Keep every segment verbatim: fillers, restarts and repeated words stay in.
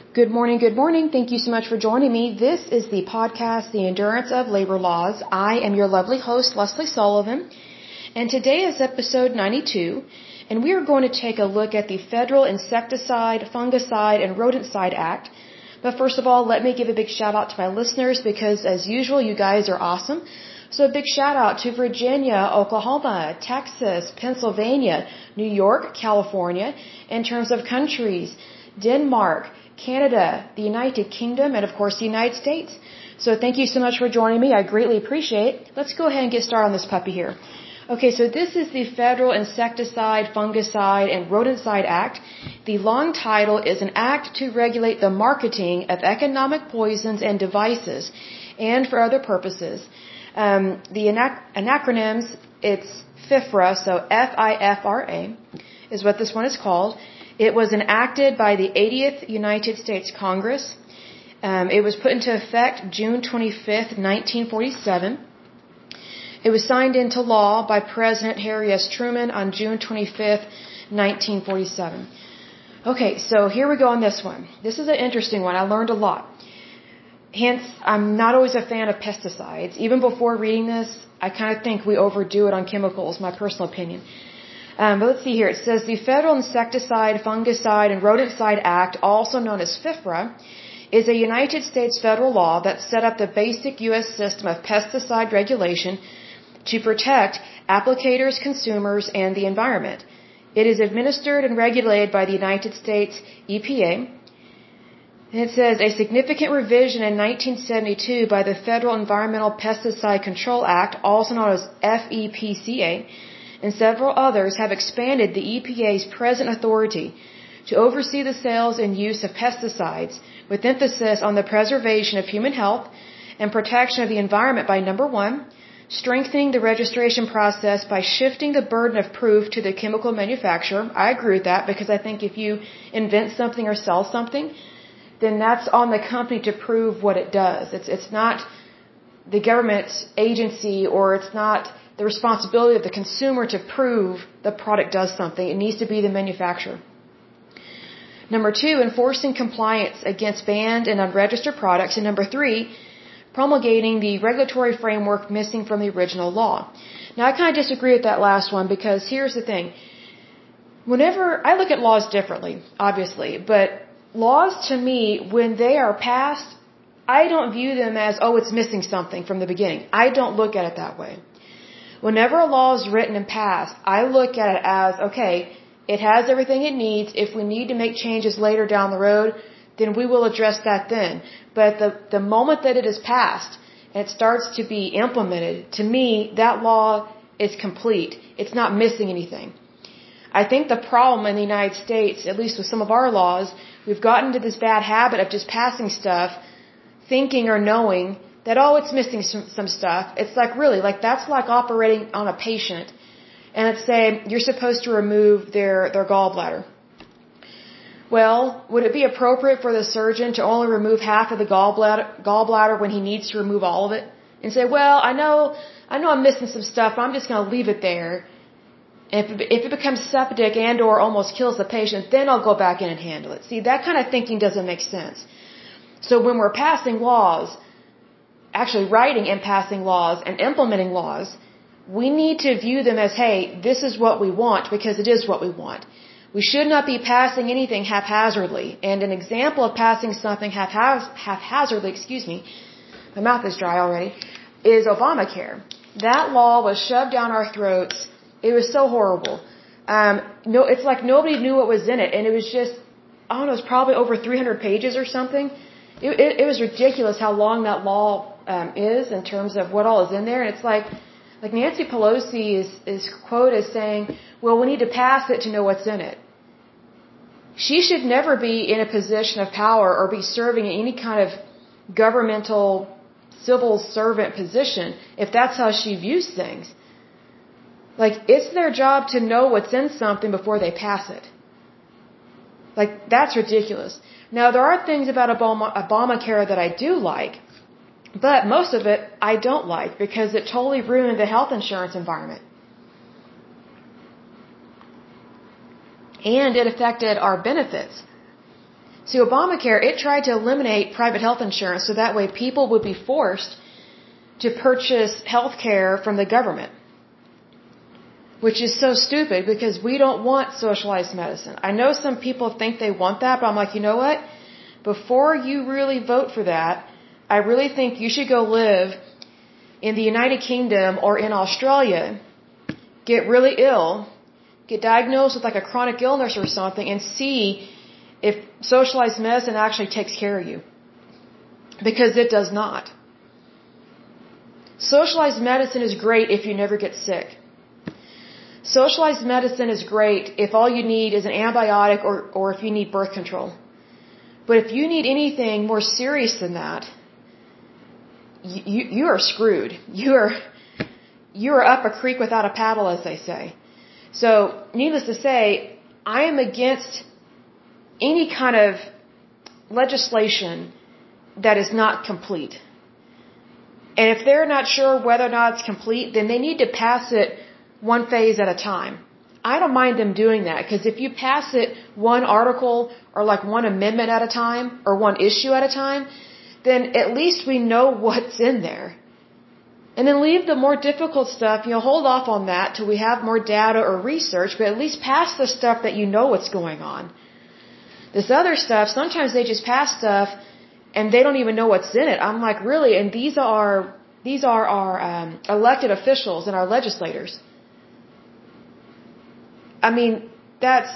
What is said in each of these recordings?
Good morning, good morning. Thank you so much for joining me. This is the podcast, The Endurance of Labor Laws. I am your lovely host, Leslie Sullivan, and today is episode ninety-two, and we are going to take a look at the Federal Insecticide, Fungicide, and Rodenticide Act. But first of all, let me give a big shout out to my listeners because, as usual, you guys are awesome. So a big shout out to Virginia, Oklahoma, Texas, Pennsylvania, New York, California, in terms of countries, Denmark, Canada, the United Kingdom, and of course the United States. So thank you so much for joining me. I greatly appreciate it. Let's go ahead and get started on this puppy here. Okay, so this is the Federal Insecticide, Fungicide, and Rodenticide Act. The long title is an act to regulate the marketing of economic poisons and devices, and for other purposes. Um, the anac- acronyms, it's FIFRA, so F I F R A, is what this one is called. It was enacted by the eightieth United States Congress. Um, it was put into effect June twenty-fifth, nineteen forty-seven. It was signed into law by President Harry S. Truman on June twenty-fifth, nineteen forty-seven. Okay, so here we go on this one. This is an interesting one. I learned a lot. Hence, I'm not always a fan of pesticides. Even before reading this, I kind of think we overdo it on chemicals, my personal opinion. Um, but let's see here. It says the Federal Insecticide, Fungicide, and Rodenticide Act, also known as FIFRA, is a United States federal law that set up the basic U S system of pesticide regulation to protect applicators, consumers, and the environment. It is administered and regulated by the United States E P A. And it says a significant revision in nineteen seventy-two by the Federal Environmental Pesticide Control Act, also known as F E P C A, and several others have expanded the E P A's present authority to oversee the sales and use of pesticides, with emphasis on the preservation of human health and protection of the environment by, number one, strengthening the registration process by shifting the burden of proof to the chemical manufacturer. I agree with that because I think if you invent something or sell something, then that's on the company to prove what it does. It's, it's not the government agency, or it's not the responsibility of the consumer to prove the product does something. It needs to be the manufacturer. Number two, enforcing compliance against banned and unregistered products. And number three, promulgating the regulatory framework missing from the original law. Now, I kind of disagree with that last one because here's the thing. Whenever I look at laws differently, obviously, but laws to me, when they are passed, I don't view them as, oh, it's missing something from the beginning. I don't look at it that way. Whenever a law is written and passed, I look at it as, okay, it has everything it needs. If we need to make changes later down the road, then we will address that then. But the, the moment that it is passed and it starts to be implemented, to me, that law is complete. It's not missing anything. I think the problem in the United States, at least with some of our laws, we've gotten into this bad habit of just passing stuff, thinking or knowing that, oh, it's missing some, some stuff. It's like, really, like that's like operating on a patient and it's saying you're supposed to remove their, their gallbladder. Well, would it be appropriate for the surgeon to only remove half of the gallbladder, gallbladder when he needs to remove all of it? And say, well, I know, I know I'm missing some stuff, but I'm just going to leave it there. And if it, if it becomes septic and or almost kills the patient, then I'll go back in and handle it. See, that kind of thinking doesn't make sense. So when we're passing laws, actually writing and passing laws and implementing laws, we need to view them as, hey, this is what we want because it is what we want. We should not be passing anything haphazardly. And an example of passing something haphaz- haphazardly, excuse me, my mouth is dry already, is Obamacare. That law was shoved down our throats. It was so horrible. Um, no, it's like nobody knew what was in it. And it was just, I don't know, it was probably over three hundred pages or something. It, it, it was ridiculous how long that law um, is in terms of what all is in there. And it's like, like Nancy Pelosi is, is quoted as saying, well, we need to pass it to know what's in it. She should never be in a position of power or be serving in any kind of governmental civil servant position if that's how she views things. Like, it's their job to know what's in something before they pass it. Like, that's ridiculous. Now, there are things about Obama, Obamacare that I do like, but most of it I don't like because it totally ruined the health insurance environment. And it affected our benefits. See, Obamacare, it tried to eliminate private health insurance so that way people would be forced to purchase health care from the government. Which is so stupid because we don't want socialized medicine. I know some people think they want that, but I'm like, you know what? Before you really vote for that, I really think you should go live in the United Kingdom or in Australia, get really ill, get diagnosed with like a chronic illness or something, and see if socialized medicine actually takes care of you. Because it does not. Socialized medicine is great if you never get sick. Socialized medicine is great if all you need is an antibiotic or, or if you need birth control. But if you need anything more serious than that, you, you are screwed. You are, you are up a creek without a paddle, as they say. So, needless to say, I am against any kind of legislation that is not complete. And if they're not sure whether or not it's complete, then they need to pass it one phase at a time. I don't mind them doing that, because if you pass it one article or like one amendment at a time or one issue at a time, then at least we know what's in there. And then leave the more difficult stuff, you know, hold off on that till we have more data or research, but at least pass the stuff that you know what's going on. This other stuff, sometimes they just pass stuff and they don't even know what's in it. I'm like, really? And these are, these are our um, elected officials and our legislators. I mean, that's,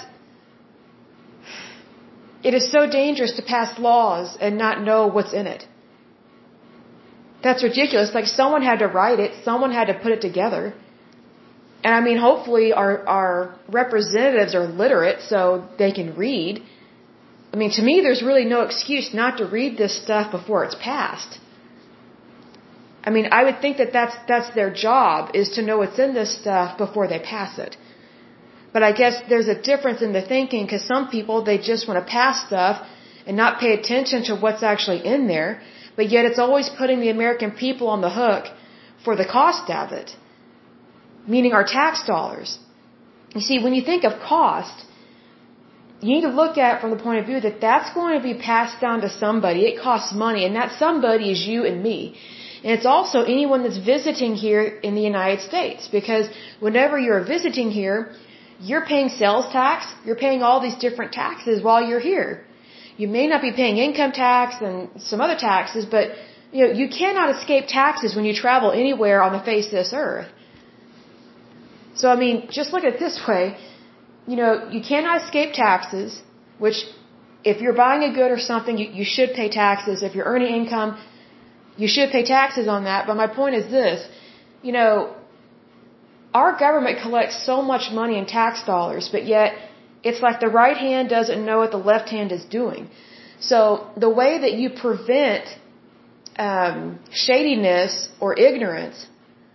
it is so dangerous to pass laws and not know what's in it. That's ridiculous. Like, someone had to write it, someone had to put it together. And I mean, hopefully our, our representatives are literate so they can read. I mean, to me, there's really no excuse not to read this stuff before it's passed. I mean, I would think that that's, that's their job, is to know what's in this stuff before they pass it. But I guess there's a difference in the thinking, because some people, they just want to pass stuff and not pay attention to what's actually in there, but yet it's always putting the American people on the hook for the cost of it, meaning our tax dollars. You see, when you think of cost, you need to look at it from the point of view that that's going to be passed down to somebody. It costs money, and that somebody is you and me. And it's also anyone that's visiting here in the United States, because whenever you're visiting here, you're paying sales tax, you're paying all these different taxes while you're here. You may not be paying income tax and some other taxes, but you know, you cannot escape taxes when you travel anywhere on the face of this earth. So I mean, just look at it this way, you know, you cannot escape taxes, which if you're buying a good or something, you, you should pay taxes. If you're earning income, you should pay taxes on that. But my point is this, you know, our government collects so much money in tax dollars, but yet it's like the right hand doesn't know what the left hand is doing. So the way that you prevent um, shadiness or ignorance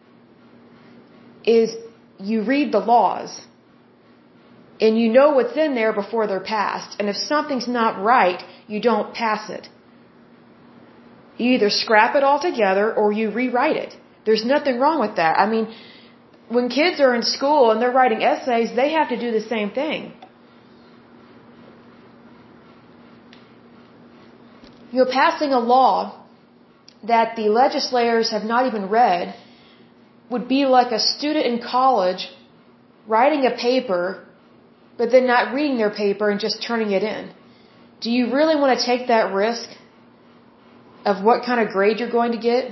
is you read the laws and you know what's in there before they're passed. And if something's not right, you don't pass it. You either scrap it altogether or you rewrite it. There's nothing wrong with that. I mean, when kids are in school and they're writing essays, they have to do the same thing. You know, passing a law that the legislators have not even read would be like a student in college writing a paper, but then not reading their paper and just turning it in. Do you really want to take that risk of what kind of grade you're going to get?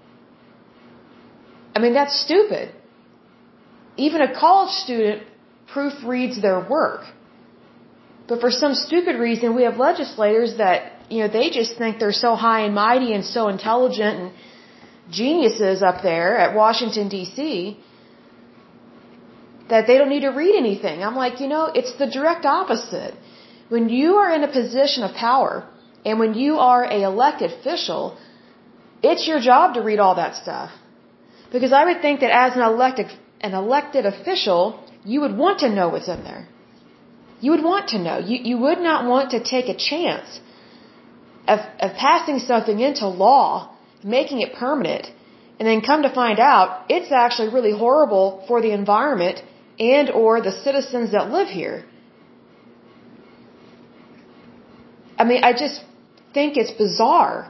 I mean, that's stupid. Even a college student proofreads their work. But for some stupid reason, we have legislators that, you know, they just think they're so high and mighty and so intelligent and geniuses up there at Washington, D C, that they don't need to read anything. I'm like, you know, it's the direct opposite. When you are in a position of power and when you are an elected official, it's your job to read all that stuff. Because I would think that as an elected an elected official, you would want to know what's in there. You would want to know. You, you would not want to take a chance of, of passing something into law, making it permanent, and then come to find out it's actually really horrible for the environment and or the citizens that live here. I mean, I just think it's bizarre.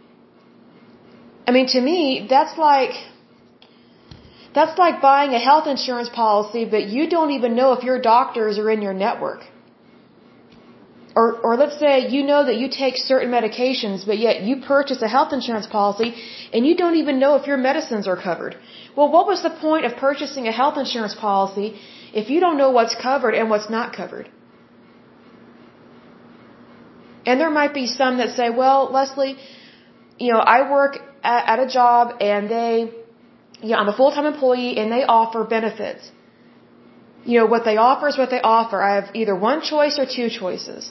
I mean, to me, that's like, that's like buying a health insurance policy, but you don't even know if your doctors are in your network. Or, or let's say you know that you take certain medications, but yet you purchase a health insurance policy and you don't even know if your medicines are covered. Well, what was the point of purchasing a health insurance policy if you don't know what's covered and what's not covered? And there might be some that say, well, Leslie, you know, I work at, at a job and they, you know, I'm a full-time employee and they offer benefits. You know, what they offer is what they offer. I have either one choice or two choices.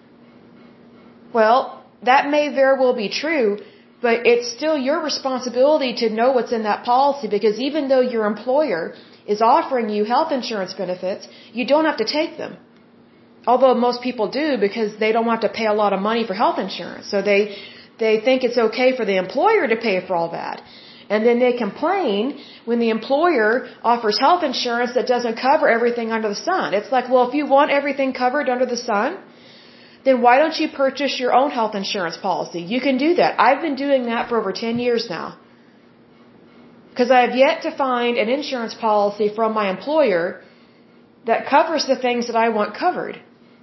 Well, that may very well be true, but it's still your responsibility to know what's in that policy, because even though your employer is offering you health insurance benefits, you don't have to take them. Although most people do, because they don't want to pay a lot of money for health insurance. So they, they think it's okay for the employer to pay for all that. And then they complain when the employer offers health insurance that doesn't cover everything under the sun. It's like, well, if you want everything covered under the sun, then why don't you purchase your own health insurance policy? You can do that. I've been doing that for over ten years now. Because I have yet to find an insurance policy from my employer that covers the things that I want covered.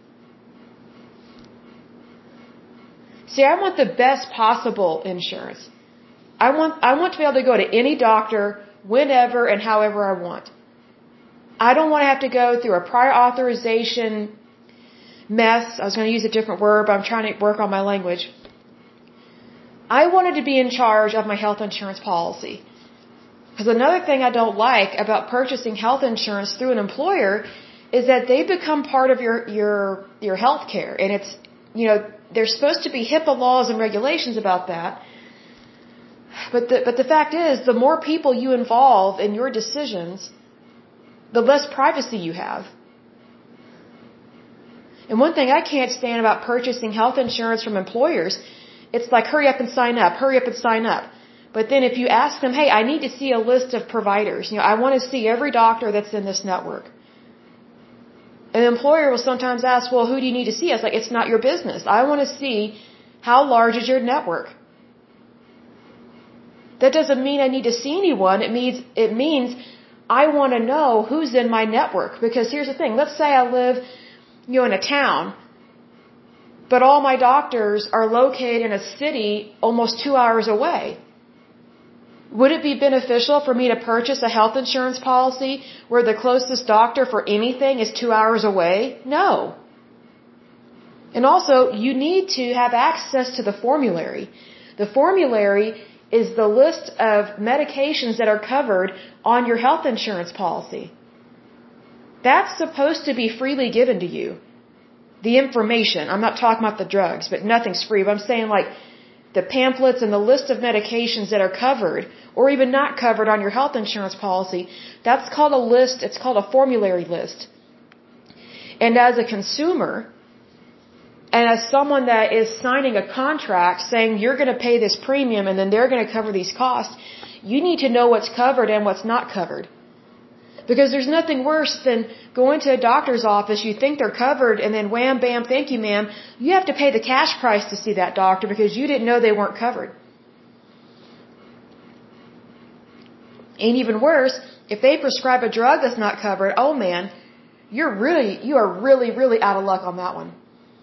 See, I want the best possible insurance. I want, I want to be able to go to any doctor whenever and however I want. I don't want to have to go through a prior authorization mess. I was going to use a different word, but I'm trying to work on my language. I wanted to be in charge of my health insurance policy. Because another thing I don't like about purchasing health insurance through an employer is that they become part of your, your, your health care. And it's, you know, there's supposed to be HIPAA laws and regulations about that. But the, but the fact is, the more people you involve in your decisions, the less privacy you have. And one thing I can't stand about purchasing health insurance from employers, it's like, hurry up and sign up, hurry up and sign up. But then if you ask them, hey, I need to see a list of providers, you know, I want to see every doctor that's in this network. And the employer will sometimes ask, well, who do you need to see? I was like, it's not your business. I want to see how large is your network. That doesn't mean I need to see anyone. It means, it means I want to know who's in my network. Because here's the thing. Let's say I live, you know, in a town, but all my doctors are located in a city almost two hours away. Would it be beneficial for me to purchase a health insurance policy where the closest doctor for anything is two hours away? No. And also, you need to have access to the formulary. The formulary is the list of medications that are covered on your health insurance policy. That's supposed to be freely given to you. The information. I'm not talking about the drugs, but nothing's free. But I'm saying like the pamphlets and the list of medications that are covered or even not covered on your health insurance policy, that's called a list. It's called a formulary list. And as a consumer, and as someone that is signing a contract saying you're going to pay this premium and then they're going to cover these costs, you need to know what's covered and what's not covered. Because there's nothing worse than going to a doctor's office, you think they're covered, and then wham, bam, thank you, ma'am, you have to pay the cash price to see that doctor because you didn't know they weren't covered. And even worse, if they prescribe a drug that's not covered, oh man, you're really, you are really, really out of luck on that one.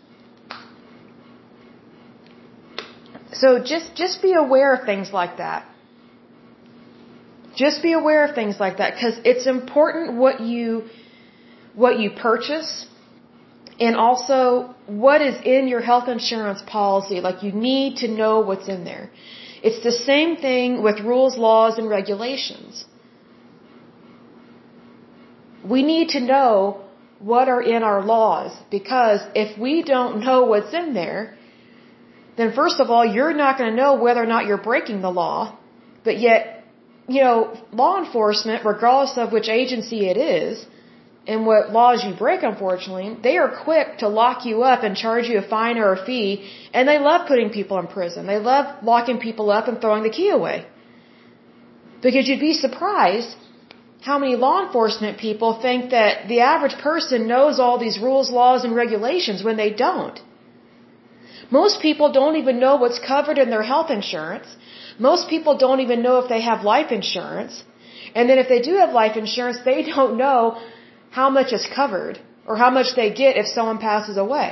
So just, just be aware of things like that. Just be aware of things like that, because it's important what you, what you purchase and also what is in your health insurance policy. Like, you need to know what's in there. It's the same thing with rules, laws, and regulations. We need to know what are in our laws, because if we don't know what's in there, then first of all, you're not going to know whether or not you're breaking the law, but yet, you know, law enforcement, regardless of which agency it is, and what laws you break, unfortunately, they are quick to lock you up and charge you a fine or a fee, and they love putting people in prison. They love locking people up and throwing the key away. Because you'd be surprised how many law enforcement people think that the average person knows all these rules, laws, and regulations when they don't. Most people don't even know what's covered in their health insurance. Most people don't even know if they have life insurance. And then if they do have life insurance, they don't know how much is covered or how much they get if someone passes away.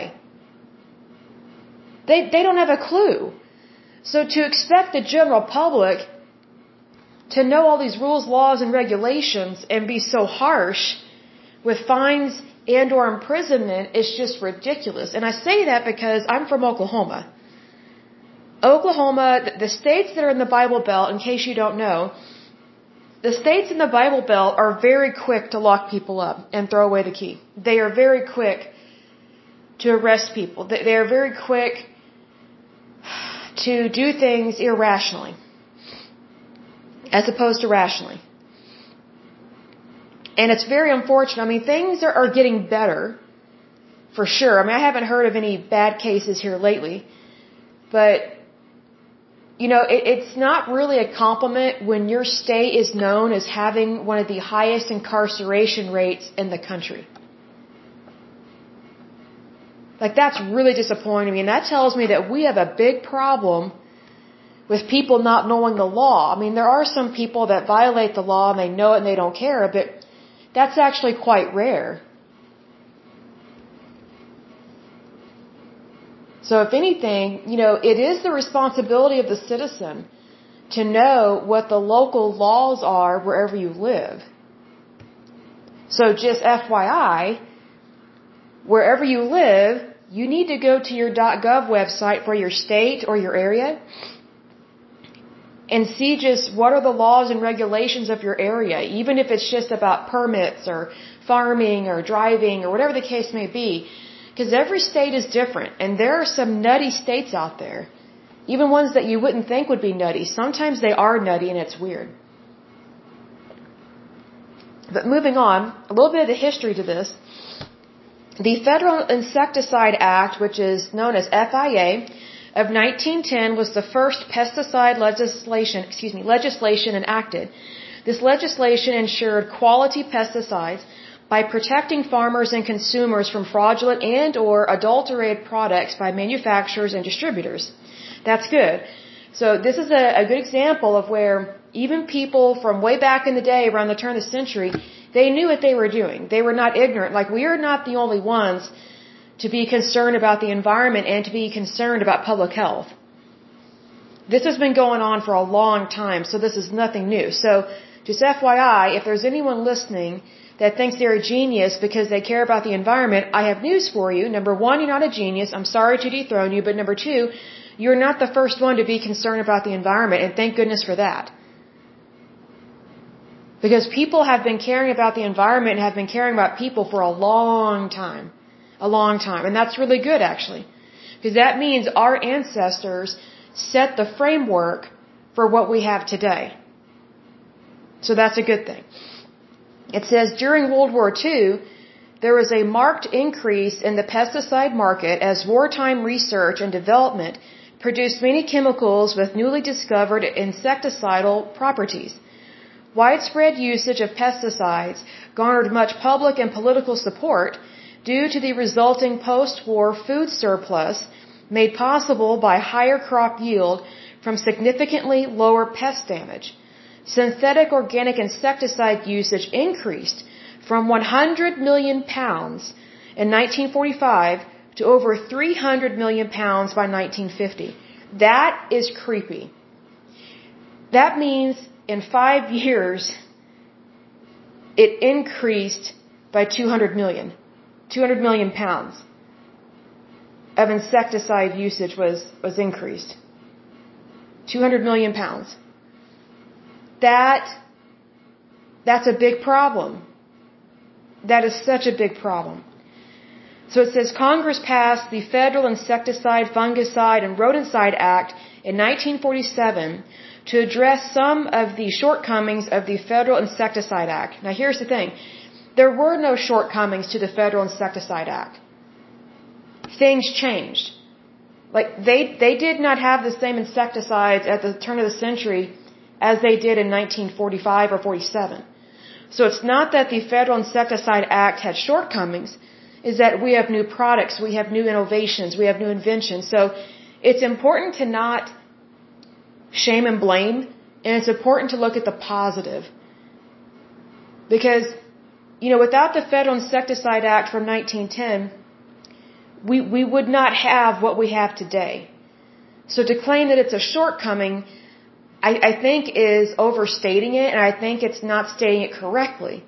They, they don't have a clue. So to expect the general public to know all these rules, laws, and regulations and be so harsh with fines and or imprisonment is just ridiculous. And I say that because I'm from Oklahoma. Oklahoma, the states that are in the Bible Belt, in case you don't know, the states in the Bible Belt are very quick to lock people up and throw away the key. They are very quick to arrest people. They are very quick to do things irrationally as opposed to rationally. And it's very unfortunate. I mean, things are, are getting better for sure. I mean, I haven't heard of any bad cases here lately, but you know, it, it's not really a compliment when your state is known as having one of the highest incarceration rates in the country. Like, that's really disappointing me, and that tells me that we have a big problem with people not knowing the law. I mean, there are some people that violate the law and they know it and they don't care, but that's actually quite rare. So if anything, you know, it is the responsibility of the citizen to know what the local laws are wherever you live. So just F Y I, wherever you live, you need to go to your .gov website for your state or your area and see just what are the laws and regulations of your area, even if it's just about permits or farming or driving or whatever the case may be. Because every state is different, and there are some nutty states out there, even ones that you wouldn't think would be nutty. Sometimes they are nutty, and it's weird. But moving on, a little bit of the history to this. The Federal Insecticide Act, which is known as F I A, of nineteen ten was the first pesticide legislation, excuse me, legislation enacted. This legislation ensured quality pesticides by protecting farmers and consumers from fraudulent and or adulterated products by manufacturers and distributors. That's good. So this is a, a good example of where even people from way back in the day, around the turn of the century, they knew what they were doing. They were not ignorant. Like, we are not the only ones to be concerned about the environment and to be concerned about public health. This has been going on for a long time, so this is nothing new. So just F Y I, if there's anyone listening that thinks they're a genius because they care about the environment, I have news for you. Number one, you're not a genius. I'm sorry to dethrone you. But number two, you're not the first one to be concerned about the environment, and thank goodness for that. Because people have been caring about the environment and have been caring about people for a long time. A long time. And that's really good, actually. Because that means our ancestors set the framework for what we have today. So that's a good thing. It says, during World War Two, there was a marked increase in the pesticide market as wartime research and development produced many chemicals with newly discovered insecticidal properties. Widespread usage of pesticides garnered much public and political support due to the resulting post-war food surplus made possible by higher crop yield from significantly lower pest damage. Synthetic organic insecticide usage increased from one hundred million pounds in nineteen forty-five to over three hundred million pounds by nineteen fifty. That is creepy. That means in five years, it increased by two hundred million. two hundred million pounds of insecticide usage was, was increased. two hundred million pounds. That, that's a big problem. That is such a big problem. So it says Congress passed the Federal Insecticide, Fungicide, and Rodenticide Act in nineteen forty-seven to address some of the shortcomings of the Federal Insecticide Act. Now here's the thing. There were no shortcomings to the Federal Insecticide Act. Things changed. Like, they, they did not have the same insecticides at the turn of the century as they did in nineteen forty-five or forty-seven. So it's not that the Federal Insecticide Act had shortcomings. is that we have new products, we have new innovations, we have new inventions. So it's important to not shame and blame, and it's important to look at the positive. Because, you know, without the Federal Insecticide Act from nineteen ten, we, we would not have what we have today. So to claim that it's a shortcoming, I, I think is overstating it, and I think it's not stating it correctly.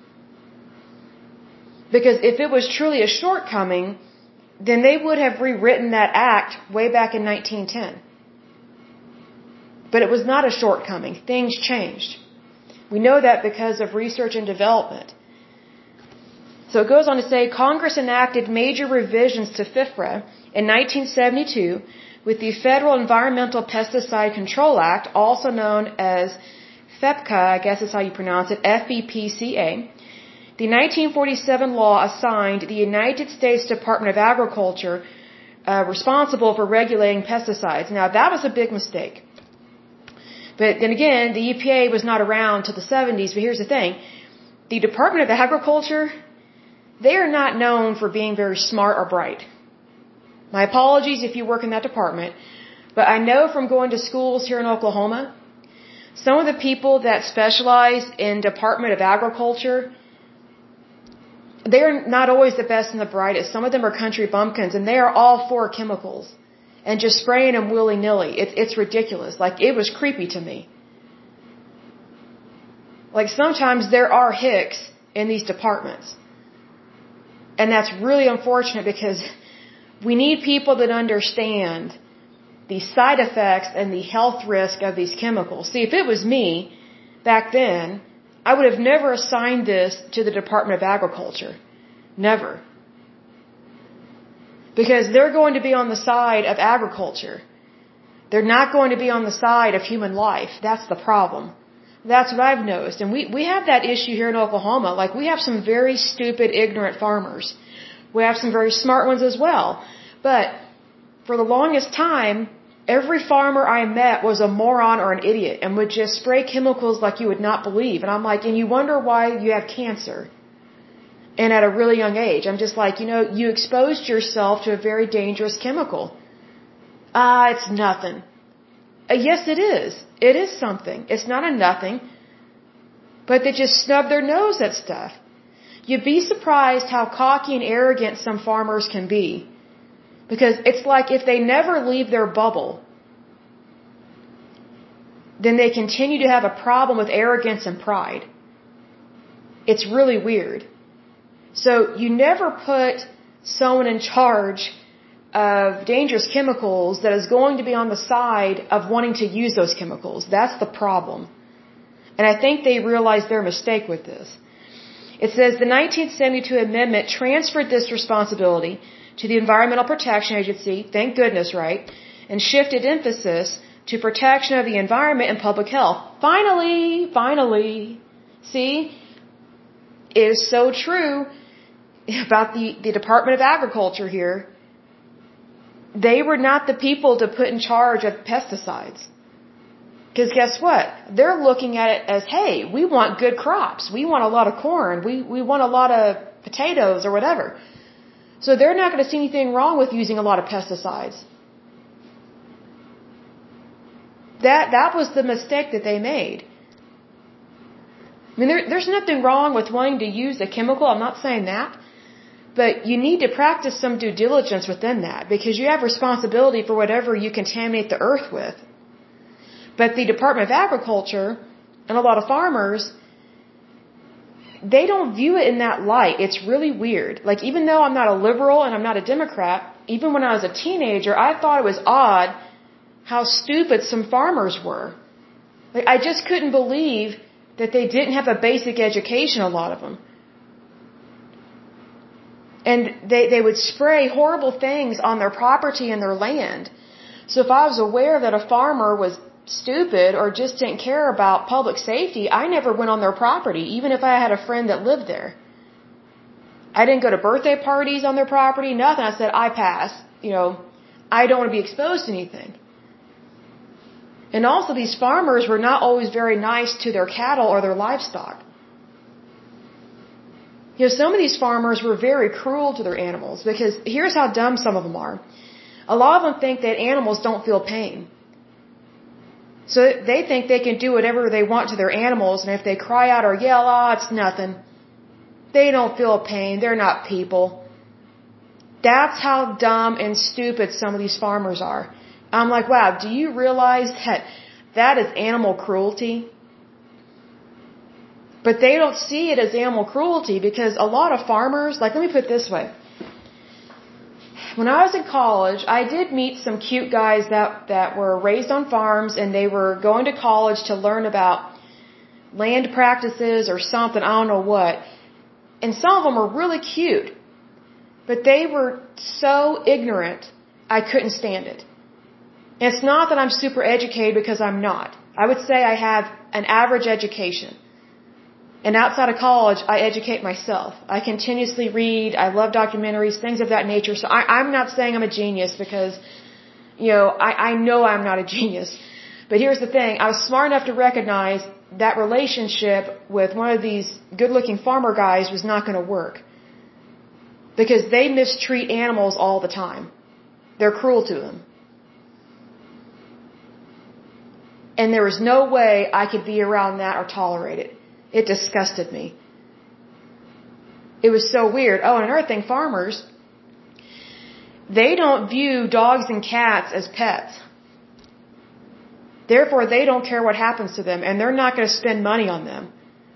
Because if it was truly a shortcoming, then they would have rewritten that act way back in nineteen ten. But it was not a shortcoming. Things changed. We know that because of research and development. So it goes on to say, Congress enacted major revisions to FIFRA in nineteen seventy-two with the Federal Environmental Pesticide Control Act, also known as FEPCA, I guess is how you pronounce it, F E P C A. The nineteen forty-seven law assigned the United States Department of Agriculture uh, responsible for regulating pesticides. Now, that was a big mistake. But then again, the E P A was not around till the seventies, but here's the thing. The Department of Agriculture, they are not known for being very smart or bright. My apologies if you work in that department, but I know from going to schools here in Oklahoma, some of the people that specialize in Department of Agriculture, they're not always the best and the brightest. Some of them are country bumpkins, and they are all for chemicals and just spraying them willy-nilly. It's, it's ridiculous. Like, it was creepy to me. Like, sometimes there are hicks in these departments. And that's really unfortunate because we need people that understand the side effects and the health risk of these chemicals. See, if it was me back then, I would have never assigned this to the Department of Agriculture. Never. Because they're going to be on the side of agriculture. They're not going to be on the side of human life. That's the problem. That's what I've noticed. And we, we have that issue here in Oklahoma. Like, we have some very stupid, ignorant farmers. We have some very smart ones as well. But for the longest time, every farmer I met was a moron or an idiot and would just spray chemicals like you would not believe. And I'm like, and you wonder why you have cancer. And at a really young age, I'm just like, you know, you exposed yourself to a very dangerous chemical. Ah, uh, it's nothing. Uh, yes, it is. It is something. It's not a nothing. But they just snub their nose at stuff. You'd be surprised how cocky and arrogant some farmers can be. Because it's like if they never leave their bubble, then they continue to have a problem with arrogance and pride. It's really weird. So you never put someone in charge of dangerous chemicals that is going to be on the side of wanting to use those chemicals. That's the problem. And I think they realized their mistake with this. It says the nineteen seventy-two amendment transferred this responsibility to the Environmental Protection Agency, thank goodness, right, and shifted emphasis to protection of the environment and public health. Finally, finally, see, it is so true about the, the Department of Agriculture here. They were not the people to put in charge of pesticides. Because guess what? They're looking at it as, hey, we want good crops. We want a lot of corn. We, we want a lot of potatoes or whatever. So they're not going to see anything wrong with using a lot of pesticides. That, that was the mistake that they made. I mean, there, there's nothing wrong with wanting to use a chemical. I'm not saying that. But you need to practice some due diligence within that because you have responsibility for whatever you contaminate the earth with. But the Department of Agriculture and a lot of farmers, they don't view it in that light. It's really weird. Like, even though I'm not a liberal and I'm not a Democrat, even when I was a teenager, I thought it was odd how stupid some farmers were. Like, I just couldn't believe that they didn't have a basic education, a lot of them. And they, they would spray horrible things on their property and their land. So if I was aware that a farmer was stupid or just didn't care about public safety, I never went on their property, even if I had a friend that lived there. I didn't go to birthday parties on their property, nothing. I said, I pass. You know, I don't want to be exposed to anything. And also, these farmers were not always very nice to their cattle or their livestock. You know, some of these farmers were very cruel to their animals because here's how dumb some of them are. A lot of them think that animals don't feel pain. So they think they can do whatever they want to their animals, and if they cry out or yell, oh, it's nothing. They don't feel pain. They're not people. That's how dumb and stupid some of these farmers are. I'm like, wow, do you realize that that is animal cruelty? But they don't see it as animal cruelty because a lot of farmers, like, let me put it this way. When I was in college, I did meet some cute guys that, that were raised on farms and they were going to college to learn about land practices or something, I don't know what. And some of them were really cute. But they were so ignorant, I couldn't stand it. And it's not that I'm super educated because I'm not. I would say I have an average education. And outside of college, I educate myself. I continuously read. I love documentaries, things of that nature. So I, I'm not saying I'm a genius because, you know, I, I know I'm not a genius. But here's the thing. I was smart enough to recognize that relationship with one of these good-looking farmer guys was not going to work. Because they mistreat animals all the time. They're cruel to them. And there was no way I could be around that or tolerate it. It disgusted me. It was so weird. Oh, and another thing, farmers, they don't view dogs and cats as pets. Therefore, they don't care what happens to them, and they're not going to spend money on them.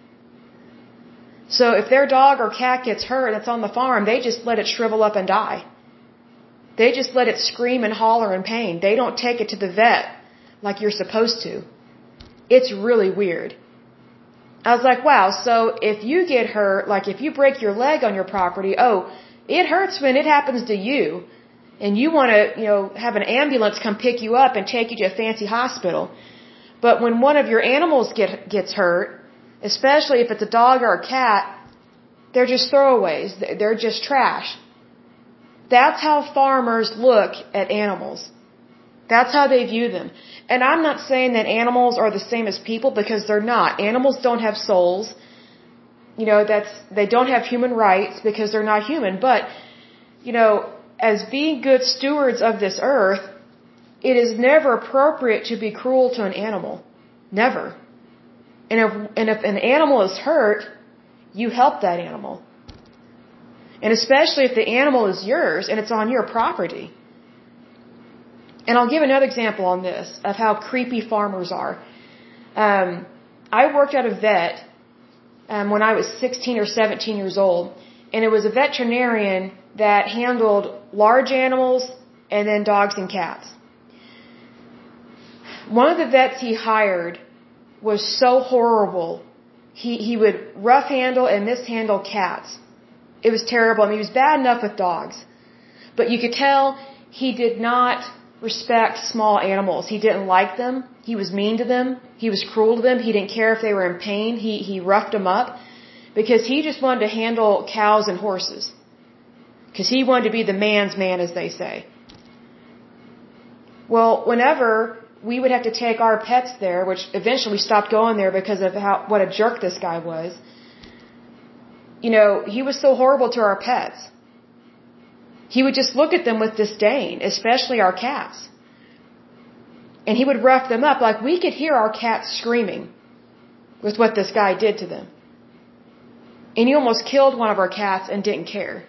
So if their dog or cat gets hurt and it's on the farm, they just let it shrivel up and die. They just let it scream and holler in pain. They don't take it to the vet like you're supposed to. It's really weird. I was like, wow, so if you get hurt, like if you break your leg on your property, oh, it hurts when it happens to you. And you want to, you know, have an ambulance come pick you up and take you to a fancy hospital. But when one of your animals get, gets hurt, especially if it's a dog or a cat, they're just throwaways. They're just trash. That's how farmers look at animals. That's how they view them. And I'm not saying that animals are the same as people because they're not. Animals don't have souls. You know, that's, they don't have human rights because they're not human. But, you know, as being good stewards of this earth, it is never appropriate to be cruel to an animal. Never. And if, and if an animal is hurt, you help that animal. And especially if the animal is yours and it's on your property. And I'll give another example on this of how creepy farmers are. Um, I worked at a vet um, when I was sixteen or seventeen years old, and it was a veterinarian that handled large animals and then dogs and cats. One of the vets he hired was so horrible. He he would rough handle and mishandle cats. It was terrible. I mean, he was bad enough with dogs, but you could tell he did not respect small animals. He didn't like them. He was mean to them. He was cruel to them. He didn't care if they were in pain. He he roughed them up because he just wanted to handle cows and horses. Because he wanted to be the man's man, as they say. Well, whenever we would have to take our pets there, which eventually we stopped going there because of how what a jerk this guy was. You know, he was so horrible to our pets. He would just look at them with disdain, especially our cats. And he would rough them up. Like, we could hear our cats screaming with what this guy did to them. And he almost killed one of our cats and didn't care.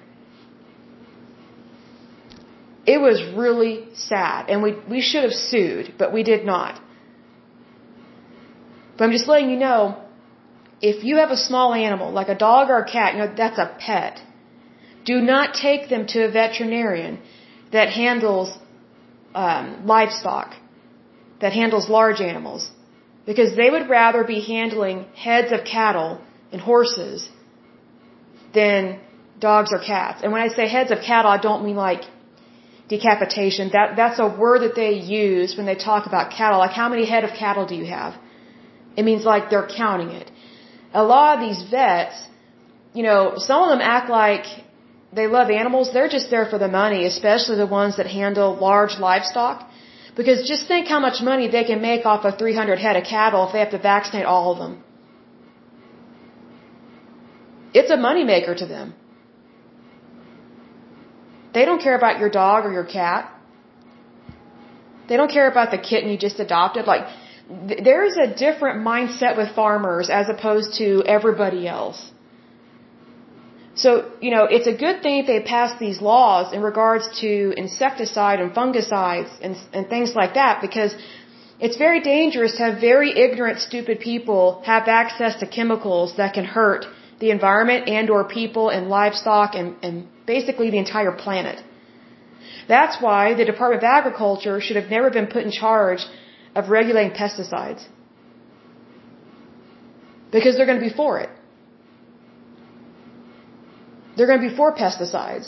It was really sad. And we, we should have sued, but we did not. But I'm just letting you know, if you have a small animal, like a dog or a cat, you know, that's a pet. Do not take them to a veterinarian that handles um, livestock, that handles large animals, because they would rather be handling heads of cattle and horses than dogs or cats. And when I say heads of cattle, I don't mean like decapitation. That that's a word that they use when they talk about cattle. Like, how many head of cattle do you have? It means like they're counting it. A lot of these vets, you know, some of them act like they love animals. They're just there for the money, especially the ones that handle large livestock. Because just think how much money they can make off of three hundred head of cattle if they have to vaccinate all of them. It's a moneymaker to them. They don't care about your dog or your cat. They don't care about the kitten you just adopted. Like, th- there is a different mindset with farmers as opposed to everybody else. So, you know, it's a good thing if they pass these laws in regards to insecticide and fungicides and, and things like that, because it's very dangerous to have very ignorant, stupid people have access to chemicals that can hurt the environment and or people and livestock and, and basically the entire planet. That's why the Department of Agriculture should have never been put in charge of regulating pesticides. Because they're going to be for it. They're going to be for pesticides.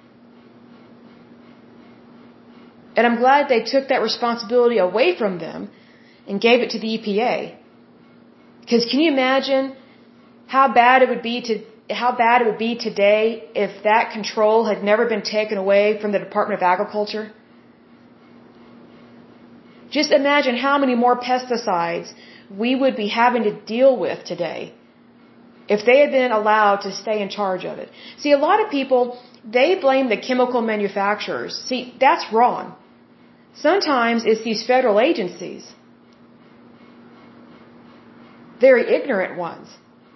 And I'm glad they took that responsibility away from them and gave it to the E P A. Because can you imagine how bad it would be to how bad it would be today if that control had never been taken away from the Department of Agriculture? Just imagine how many more pesticides we would be having to deal with today if they had been allowed to stay in charge of it. See, a lot of people, they blame the chemical manufacturers. See, that's wrong. Sometimes it's these federal agencies. Very ignorant ones.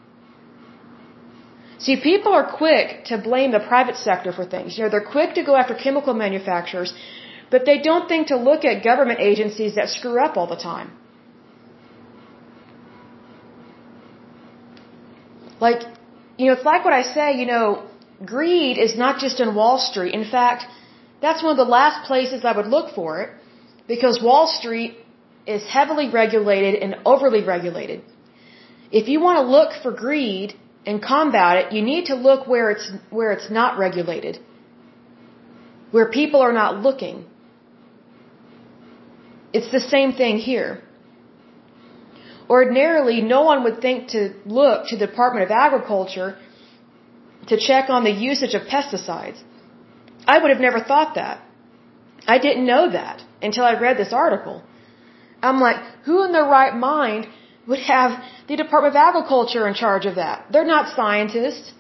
See, people are quick to blame the private sector for things. You know, they're quick to go after chemical manufacturers, but they don't think to look at government agencies that screw up all the time. Like, you know, it's like what I say, you know, greed is not just in Wall Street. In fact, that's one of the last places I would look for it, because Wall Street is heavily regulated and overly regulated. If you want to look for greed and combat it, you need to look where it's where it's not regulated, where people are not looking. It's the same thing here. Ordinarily, no one would think to look to the Department of Agriculture to check on the usage of pesticides. I would have never thought that. I didn't know that until I read this article. I'm like, who in their right mind would have the Department of Agriculture in charge of that? They're not scientists.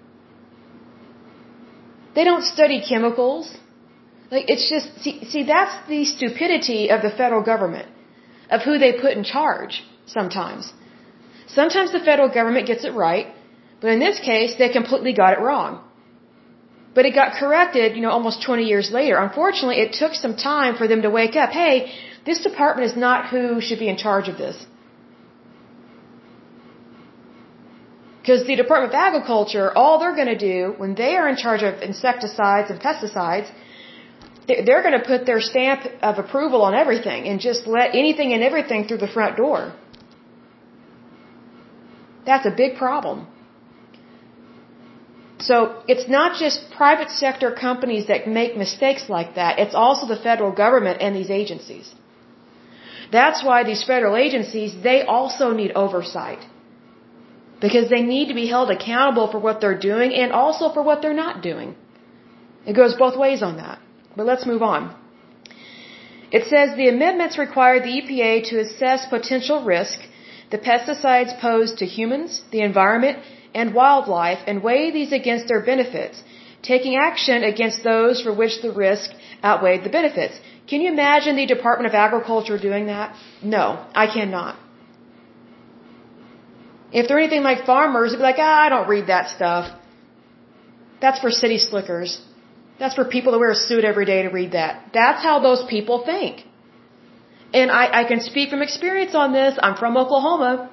They don't study chemicals. Like, it's just, see, see, that's the stupidity of the federal government, of who they put in charge sometimes. Sometimes the federal government gets it right, but in this case, they completely got it wrong. But it got corrected, you know, almost twenty years later. Unfortunately, it took some time for them to wake up. Hey, this department is not who should be in charge of this. Because the Department of Agriculture, all they're going to do when they are in charge of insecticides and pesticides, they're going to put their stamp of approval on everything and just let anything and everything through the front door. That's a big problem. So it's not just private sector companies that make mistakes like that. It's also the federal government and these agencies. That's why these federal agencies, they also need oversight. Because they need to be held accountable for what they're doing and also for what they're not doing. It goes both ways on that. But let's move on. It says the amendments require the E P A to assess potential risk, the pesticides posed to humans, the environment, and wildlife, and weigh these against their benefits, taking action against those for which the risk outweighed the benefits. Can you imagine the Department of Agriculture doing that? No, I cannot. If they're anything like farmers, they'd be like, ah, I don't read that stuff. That's for city slickers. That's for people that wear a suit every day to read that. That's how those people think. And I, I can speak from experience on this. I'm from Oklahoma.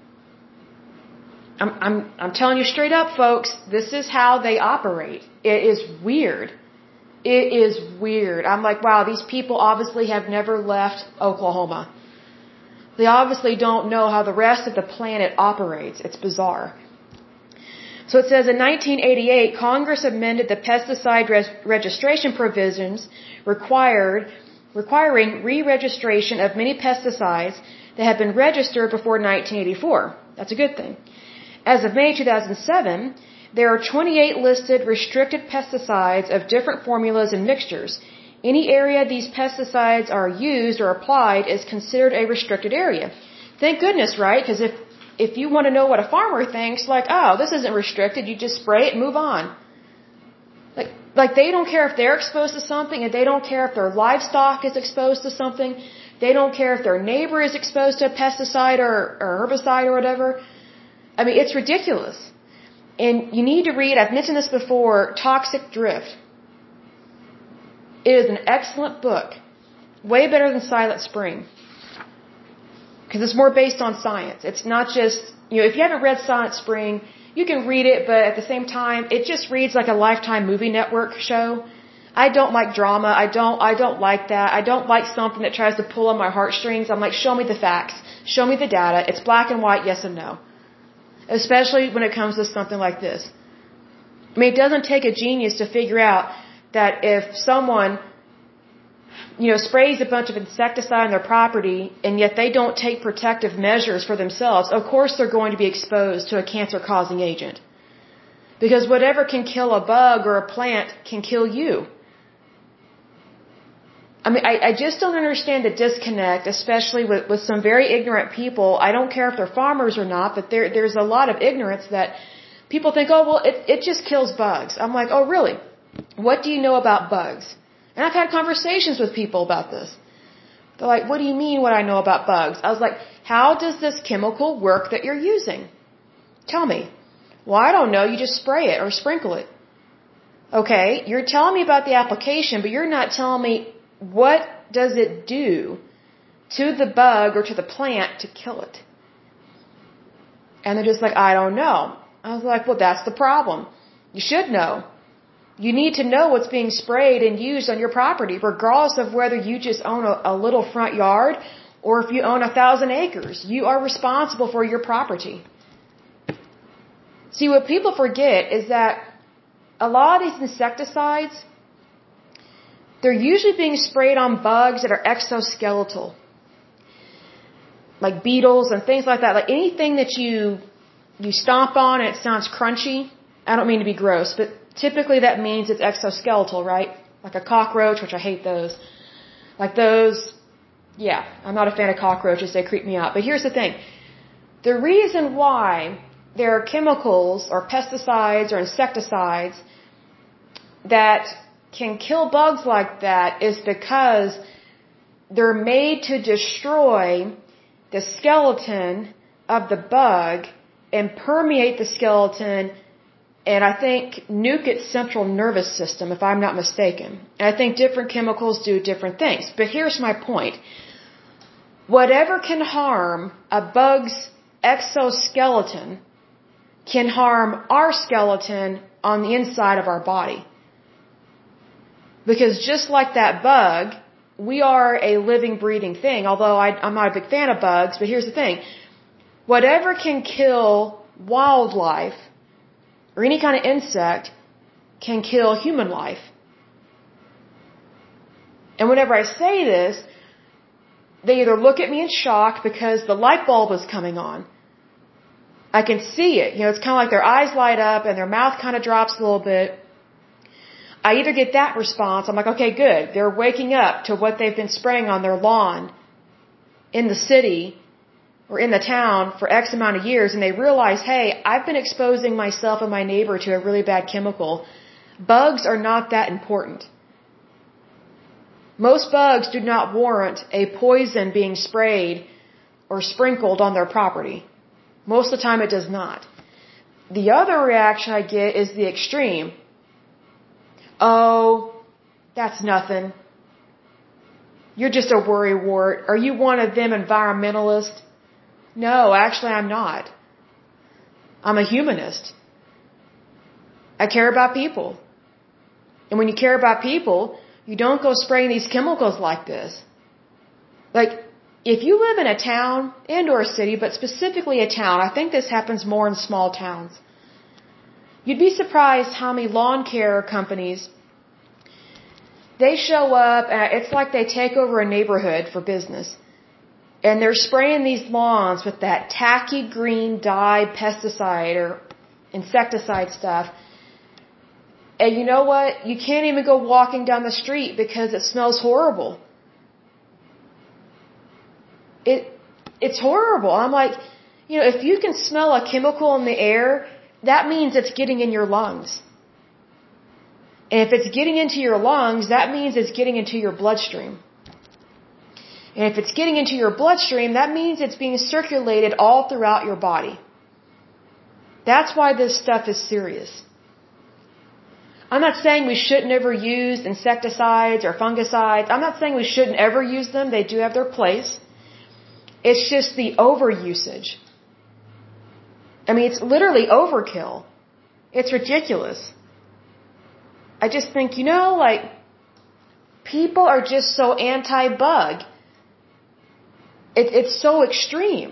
I'm, I'm, I'm telling you straight up, folks, this is how they operate. It is weird. It is weird. I'm like, wow, these people obviously have never left Oklahoma. They obviously don't know how the rest of the planet operates. It's bizarre. So it says in nineteen eighty-eight, Congress amended the pesticide res- registration provisions required, requiring re-registration of many pesticides that had been registered before nineteen eighty-four. That's a good thing. As of May two thousand seven, there are twenty-eight listed restricted pesticides of different formulas and mixtures. Any area these pesticides are used or applied is considered a restricted area. Thank goodness, right? Because if if you want to know what a farmer thinks, like, oh, this isn't restricted, you just spray it and move on. Like, like they don't care if they're exposed to something, and they don't care if their livestock is exposed to something. They don't care if their neighbor is exposed to a pesticide or, or herbicide or whatever. I mean, it's ridiculous. And you need to read, I've mentioned this before, Toxic Drift. It is an excellent book. Way better than Silent Spring. Because it's more based on science. It's not just, you know, if you haven't read Silent Spring, you can read it, but at the same time, it just reads like a Lifetime Movie Network show. I don't like drama. I don't, I don't like that. I don't like something that tries to pull on my heartstrings. I'm like, show me the facts. Show me the data. It's black and white, yes and no. Especially when it comes to something like this. I mean, it doesn't take a genius to figure out that if someone, you know, sprays a bunch of insecticide on their property and yet they don't take protective measures for themselves, of course they're going to be exposed to a cancer-causing agent. Because whatever can kill a bug or a plant can kill you. I mean, I, I just don't understand the disconnect, especially with, with some very ignorant people. I don't care if they're farmers or not, but there, there's a lot of ignorance that people think, oh, well, it, it just kills bugs. I'm like, oh, really? What do you know about bugs? And I've had conversations with people about this. They're like, what do you mean what I know about bugs? I was like, how does this chemical work that you're using? Tell me. Well, I don't know. You just spray it or sprinkle it. Okay, you're telling me about the application, but you're not telling me what does it do to the bug or to the plant to kill it. And they're just like, I don't know. I was like, well, that's the problem. You should know. You need to know what's being sprayed and used on your property, regardless of whether you just own a, a little front yard or if you own a thousand acres. You are responsible for your property. See, what people forget is that a lot of these insecticides, they're usually being sprayed on bugs that are exoskeletal. Like beetles and things like that. Like anything that you you stomp on and it sounds crunchy. I don't mean to be gross, but typically that means it's exoskeletal, right? Like a cockroach, which I hate those. Like those, yeah, I'm not a fan of cockroaches. They creep me out. But here's the thing. The reason why there are chemicals or pesticides or insecticides that can kill bugs like that is because they're made to destroy the skeleton of the bug and permeate the skeleton and I think nuke its central nervous system, if I'm not mistaken. And I think different chemicals do different things. But here's my point. Whatever can harm a bug's exoskeleton can harm our skeleton on the inside of our body. Because just like that bug, we are a living, breathing thing. Although I, I'm not a big fan of bugs, but here's the thing. Whatever can kill wildlife or any kind of insect can kill human life. And whenever I say this, they either look at me in shock because the light bulb is coming on. I can see it. You know, it's kind of like their eyes light up and their mouth kind of drops a little bit. I either get that response, I'm like, okay, good. They're waking up to what they've been spraying on their lawn in the city or in the town for X amount of years, and they realize, hey, I've been exposing myself and my neighbor to a really bad chemical. Bugs are not that important. Most bugs do not warrant a poison being sprayed or sprinkled on their property. Most of the time it does not. The other reaction I get is the extreme. Oh, that's nothing. You're just a worrywart. Are you one of them environmentalists? No, actually I'm not. I'm a humanist. I care about people. And when you care about people, you don't go spraying these chemicals like this. Like, if you live in a town, and or a city, but specifically a town, I think this happens more in small towns. You'd be surprised how many lawn care companies, they show up, and it's like they take over a neighborhood for business. And they're spraying these lawns with that tacky green dye pesticide or insecticide stuff. And you know what? You can't even go walking down the street because it smells horrible. It, it's horrible. I'm like, You know, if you can smell a chemical in the air, that means it's getting in your lungs. And if it's getting into your lungs, that means it's getting into your bloodstream. And if it's getting into your bloodstream, that means it's being circulated all throughout your body. That's why this stuff is serious. I'm not saying we shouldn't ever use insecticides or fungicides. I'm not saying we shouldn't ever use them. They do have their place. It's just the overusage. I mean, it's literally overkill. It's ridiculous. I just think, you know, like, people are just so anti-bug. It, it's so extreme.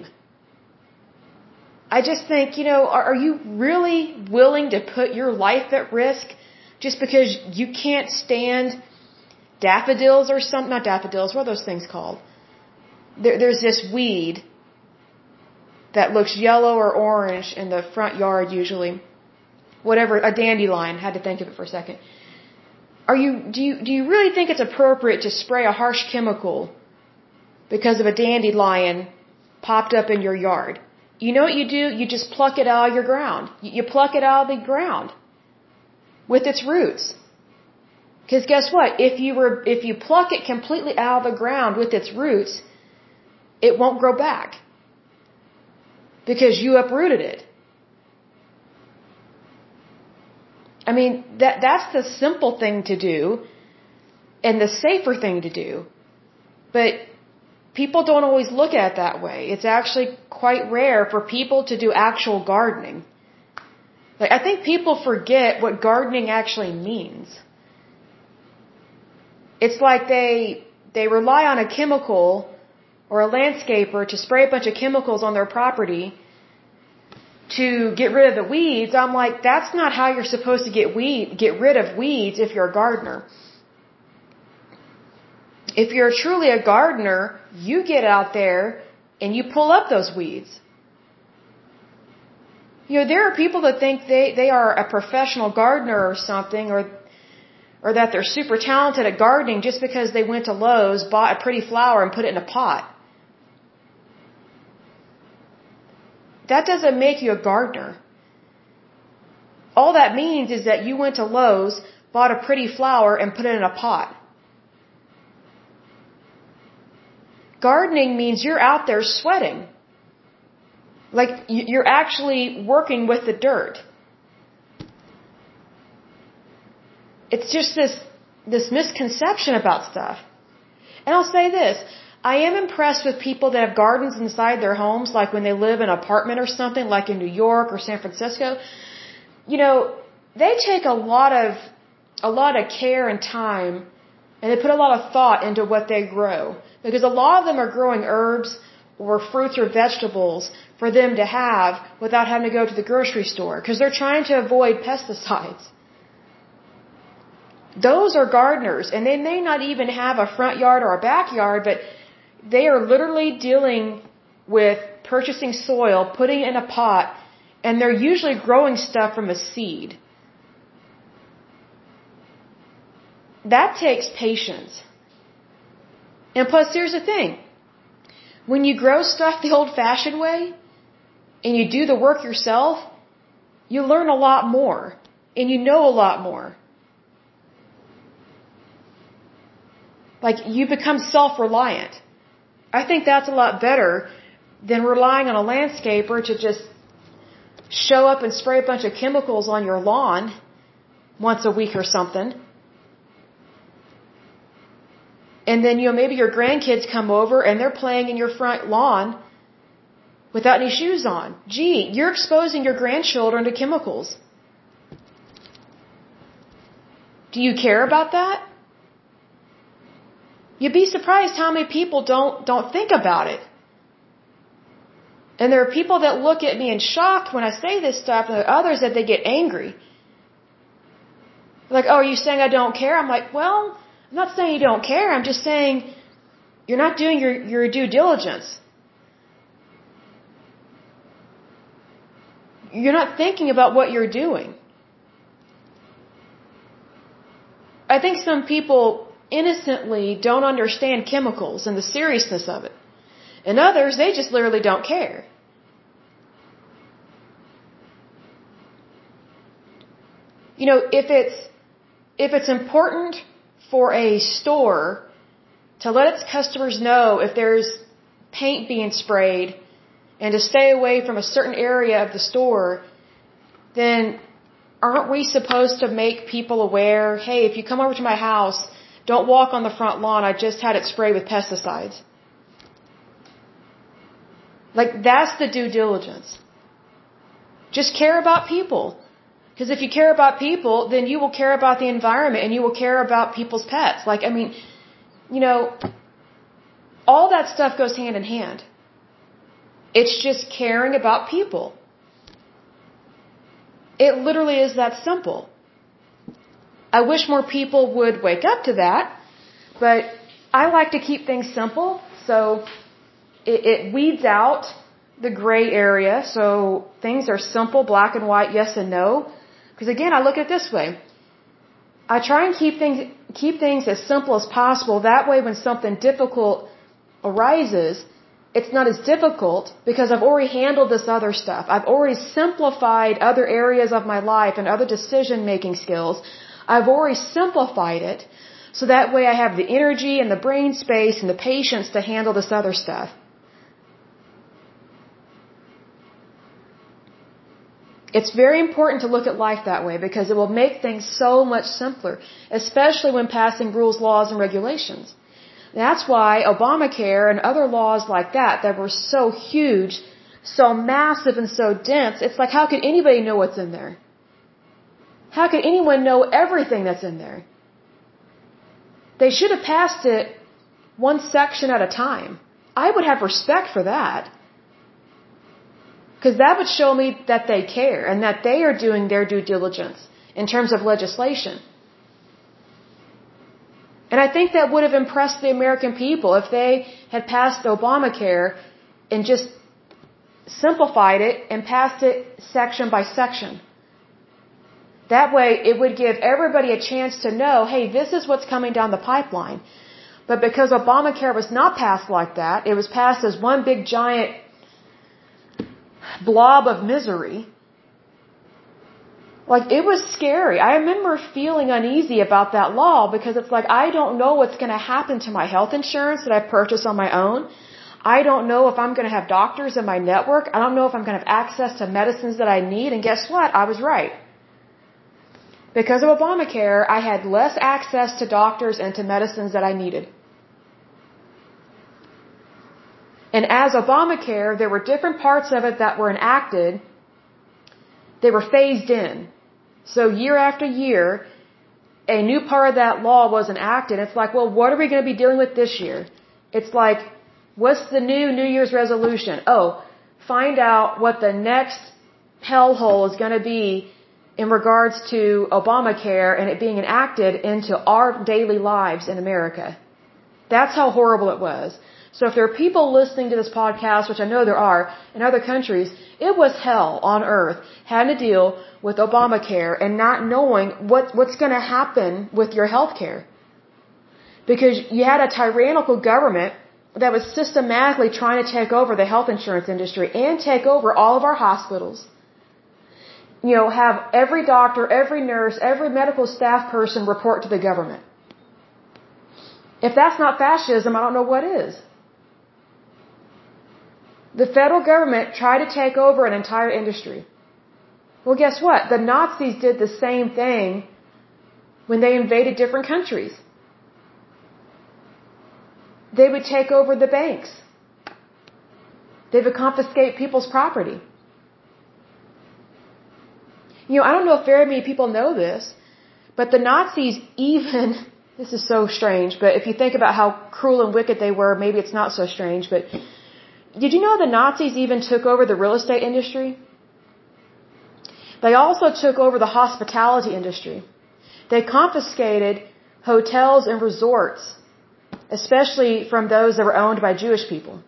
I just think, you know, are, are you really willing to put your life at risk just because you can't stand daffodils or something? Not daffodils, what are those things called? There, there's this weed that looks yellow or orange in the front yard usually. Whatever, a dandelion, had to think of it for a second. Are you, do you, do you really think it's appropriate to spray a harsh chemical because of a dandelion popped up in your yard? You know what you do? You just pluck it out of your ground. You pluck it out of the ground with its roots. Because guess what? If you were, if you pluck it completely out of the ground with its roots, it won't grow back. Because you uprooted it. I mean, that, that's the simple thing to do and the safer thing to do. But people don't always look at it that way. It's actually quite rare for people to do actual gardening. Like, I think people forget what gardening actually means. It's like they, they rely on a chemical or a landscaper to spray a bunch of chemicals on their property to get rid of the weeds. I'm like, that's not how you're supposed to get weed, get rid of weeds if you're a gardener. If you're truly a gardener, you get out there and you pull up those weeds. You know, there are people that think they, they are a professional gardener or something, or or that they're super talented at gardening just because they went to Lowe's, bought a pretty flower, and put it in a pot. That doesn't make you a gardener. All that means is that you went to Lowe's, bought a pretty flower, and put it in a pot. Gardening means you're out there sweating. Like, you're actually working with the dirt. It's just this, this misconception about stuff. And I'll say this. I am impressed with people that have gardens inside their homes, like when they live in an apartment or something, like in New York or San Francisco. You know, they take a lot of, a lot of care and time, and they put a lot of thought into what they grow. Because a lot of them are growing herbs or fruits or vegetables for them to have without having to go to the grocery store, because they're trying to avoid pesticides. Those are gardeners, and they may not even have a front yard or a backyard, but they are literally dealing with purchasing soil, putting it in a pot, and they're usually growing stuff from a seed. That takes patience. And plus, here's the thing. When you grow stuff the old-fashioned way, and you do the work yourself, you learn a lot more, and you know a lot more. Like, you become self-reliant. I think that's a lot better than relying on a landscaper to just show up and spray a bunch of chemicals on your lawn once a week or something. And then, you know, maybe your grandkids come over and they're playing in your front lawn without any shoes on. Gee, you're exposing your grandchildren to chemicals. Do you care about that? You'd be surprised how many people don't, don't think about it. And there are people that look at me in shock when I say this stuff, and there are others that they get angry. Like, oh, are you saying I don't care? I'm like, well, I'm not saying you don't care. I'm just saying you're not doing your, your due diligence. You're not thinking about what you're doing. I think some people innocently don't understand chemicals and the seriousness of it. And others, they just literally don't care. You know, if it's, if it's important for a store to let its customers know if there's paint being sprayed and to stay away from a certain area of the store, then aren't we supposed to make people aware, hey, if you come over to my house, don't walk on the front lawn, I just had it sprayed with pesticides. Like, that's the due diligence. Just care about people. Because if you care about people, then you will care about the environment and you will care about people's pets. Like, I mean, you know, all that stuff goes hand in hand. It's just caring about people. It literally is that simple. I wish more people would wake up to that, but I like to keep things simple, so it, it weeds out the gray area, so things are simple, black and white, yes and no. Because again, I look at it this way. I try and keep things, keep things as simple as possible. That way when something difficult arises, it's not as difficult because I've already handled this other stuff. I've already simplified other areas of my life and other decision-making skills. I've already simplified it, so that way I have the energy and the brain space and the patience to handle this other stuff. It's very important to look at life that way because it will make things so much simpler, especially when passing rules, laws, and regulations. That's why Obamacare and other laws like that that were so huge, so massive and so dense, it's like, how could anybody know what's in there? How could anyone know everything that's in there? They should have passed it one section at a time. I would have respect for that. Because that would show me that they care and that they are doing their due diligence in terms of legislation. And I think that would have impressed the American people if they had passed Obamacare and just simplified it and passed it section by section. That way it would give everybody a chance to know, hey, this is what's coming down the pipeline. But because Obamacare was not passed like that, it was passed as one big giant blob of misery. Like, it was scary. I remember feeling uneasy about that law because it's like, I don't know what's going to happen to my health insurance that I purchase on my own. I don't know if I'm going to have doctors in my network. I don't know if I'm going to have access to medicines that I need. And guess what? I was right. Because of Obamacare, I had less access to doctors and to medicines that I needed. And as Obamacare, there were different parts of it that were enacted. They were phased in. So year after year, a new part of that law was enacted. It's like, well, what are we going to be dealing with this year? It's like, what's the new New Year's resolution? Oh, find out what the next hellhole is going to be in regards to Obamacare and it being enacted into our daily lives in America. That's how horrible it was. So if there are people listening to this podcast, which I know there are, in other countries, it was hell on earth having to deal with Obamacare and not knowing what, what's going to happen with your health care. Because you had a tyrannical government that was systematically trying to take over the health insurance industry and take over all of our hospitals. You know, have every doctor, every nurse, every medical staff person report to the government. If that's not fascism, I don't know what is. The federal government tried to take over an entire industry. Well, guess what? The Nazis did the same thing when they invaded different countries. They would take over the banks. They would confiscate people's property. You know, I don't know if very many people know this, but the Nazis even, this is so strange, but if you think about how cruel and wicked they were, maybe it's not so strange, but did you know the Nazis even took over the real estate industry? They also took over the hospitality industry. They confiscated hotels and resorts, especially from those that were owned by Jewish people.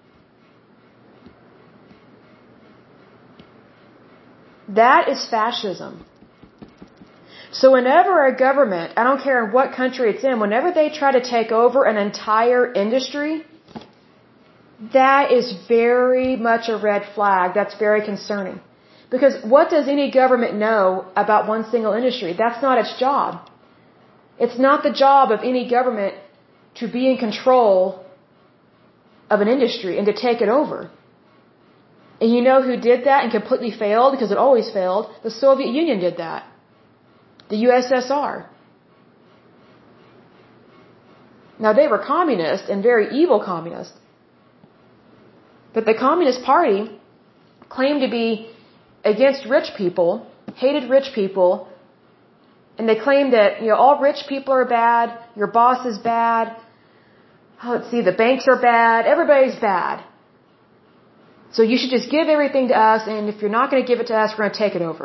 That is fascism. So whenever a government, I don't care in what country it's in, whenever they try to take over an entire industry, that is very much a red flag. That's very concerning. Because what does any government know about one single industry? That's not its job. It's not the job of any government to be in control of an industry and to take it over. And you know who did that and completely failed, because it always failed? The Soviet Union did that. The U S S R. Now, they were communist and very evil communist. But the Communist Party claimed to be against rich people, hated rich people, and they claimed that, you know, all rich people are bad, your boss is bad, oh, let's see, the banks are bad, everybody's bad. So you should just give everything to us, and if you're not going to give it to us, we're going to take it over.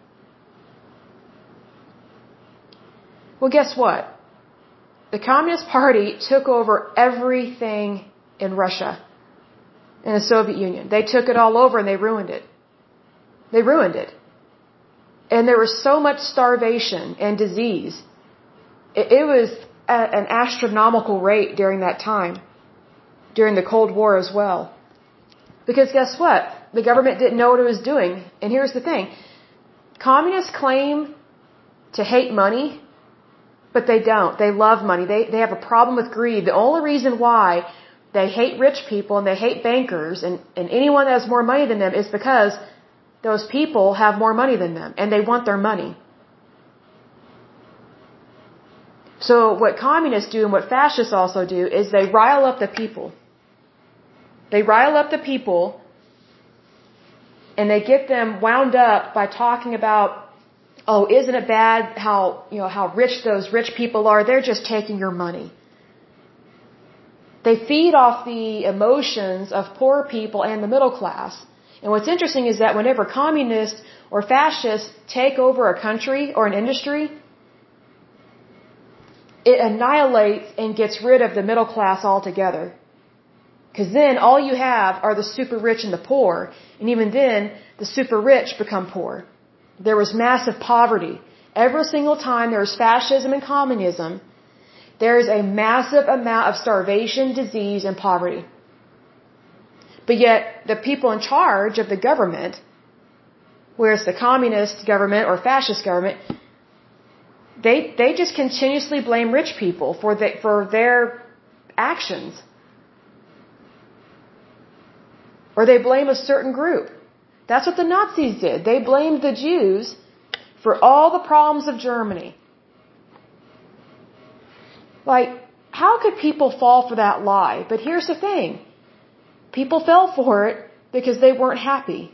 Well, guess what? The Communist Party took over everything in Russia, in the Soviet Union. They took it all over and they ruined it. They ruined it. And there was so much starvation and disease. It, it was at an astronomical rate during that time, during the Cold War as well. Because guess what? The government didn't know what it was doing. And here's the thing. Communists claim to hate money, but they don't. They love money. They, they have a problem with greed. The only reason why they hate rich people and they hate bankers and, and anyone that has more money than them is because those people have more money than them and they want their money. So what communists do and what fascists also do is they rile up the people. They rile up the people and they get them wound up by talking about, oh, isn't it bad how, you know, how rich those rich people are? They're just taking your money. They feed off the emotions of poor people and the middle class. And what's interesting is that whenever communists or fascists take over a country or an industry, it annihilates and gets rid of the middle class altogether. Because then all you have are the super rich and the poor. And even then, the super rich become poor. There was massive poverty. Every single time there's fascism and communism, there is a massive amount of starvation, disease, and poverty. But yet, the people in charge of the government, whether it's the communist government or fascist government, they, they just continuously blame rich people for, the, for their actions. Or they blame a certain group. That's what the Nazis did. They blamed the Jews for all the problems of Germany. Like, how could people fall for that lie? But here's the thing. People fell for it because they weren't happy.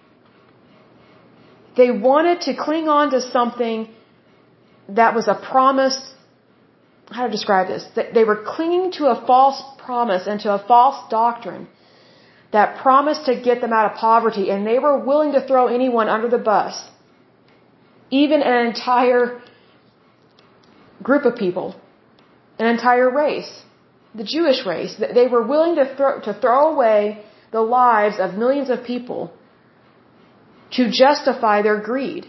They wanted to cling on to something that was a promise. How to describe this? They were clinging to a false promise and to a false doctrine that promised to get them out of poverty, and they were willing to throw anyone under the bus, even an entire group of people, an entire race, the Jewish race. They were willing to throw, to throw away the lives of millions of people to justify their greed.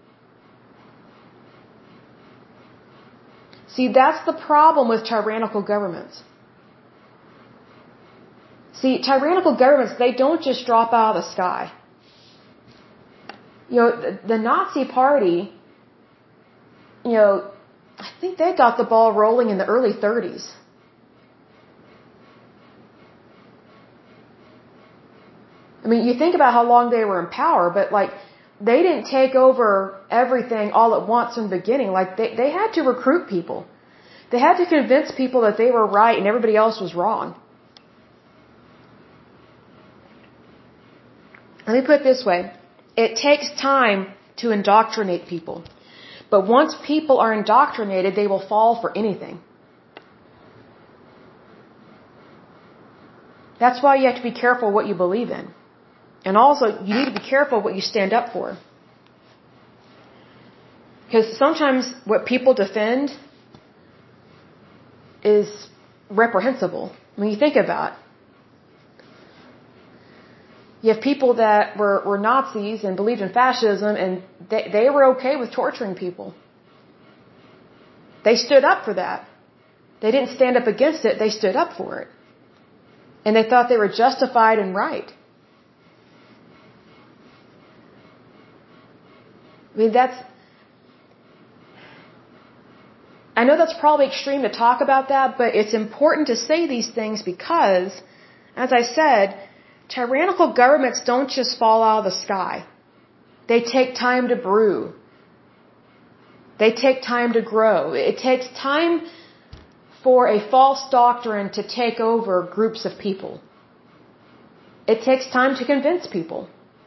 See, that's the problem with tyrannical governments. See, tyrannical governments, they don't just drop out of the sky. You know, the, the Nazi Party, you know, I think they got the ball rolling in the early thirties. I mean, you think about how long they were in power, but like, they didn't take over everything all at once from the beginning. Like, they, they had to recruit people. They had to convince people that they were right and everybody else was wrong. Let me put it this way. It takes time to indoctrinate people. But once people are indoctrinated, they will fall for anything. That's why you have to be careful what you believe in. And also, you need to be careful what you stand up for. Because sometimes what people defend is reprehensible. When you think about it. You have people that were, were Nazis and believed in fascism, and they, they were okay with torturing people. They stood up for that. They didn't stand up against it, they stood up for it. And they thought they were justified and right. I mean, that's, I know that's probably extreme to talk about that, but it's important to say these things because, as I said, tyrannical governments don't just fall out of the sky. They take time to brew. They take time to grow. It takes time for a false doctrine to take over groups of people. It takes time to convince people.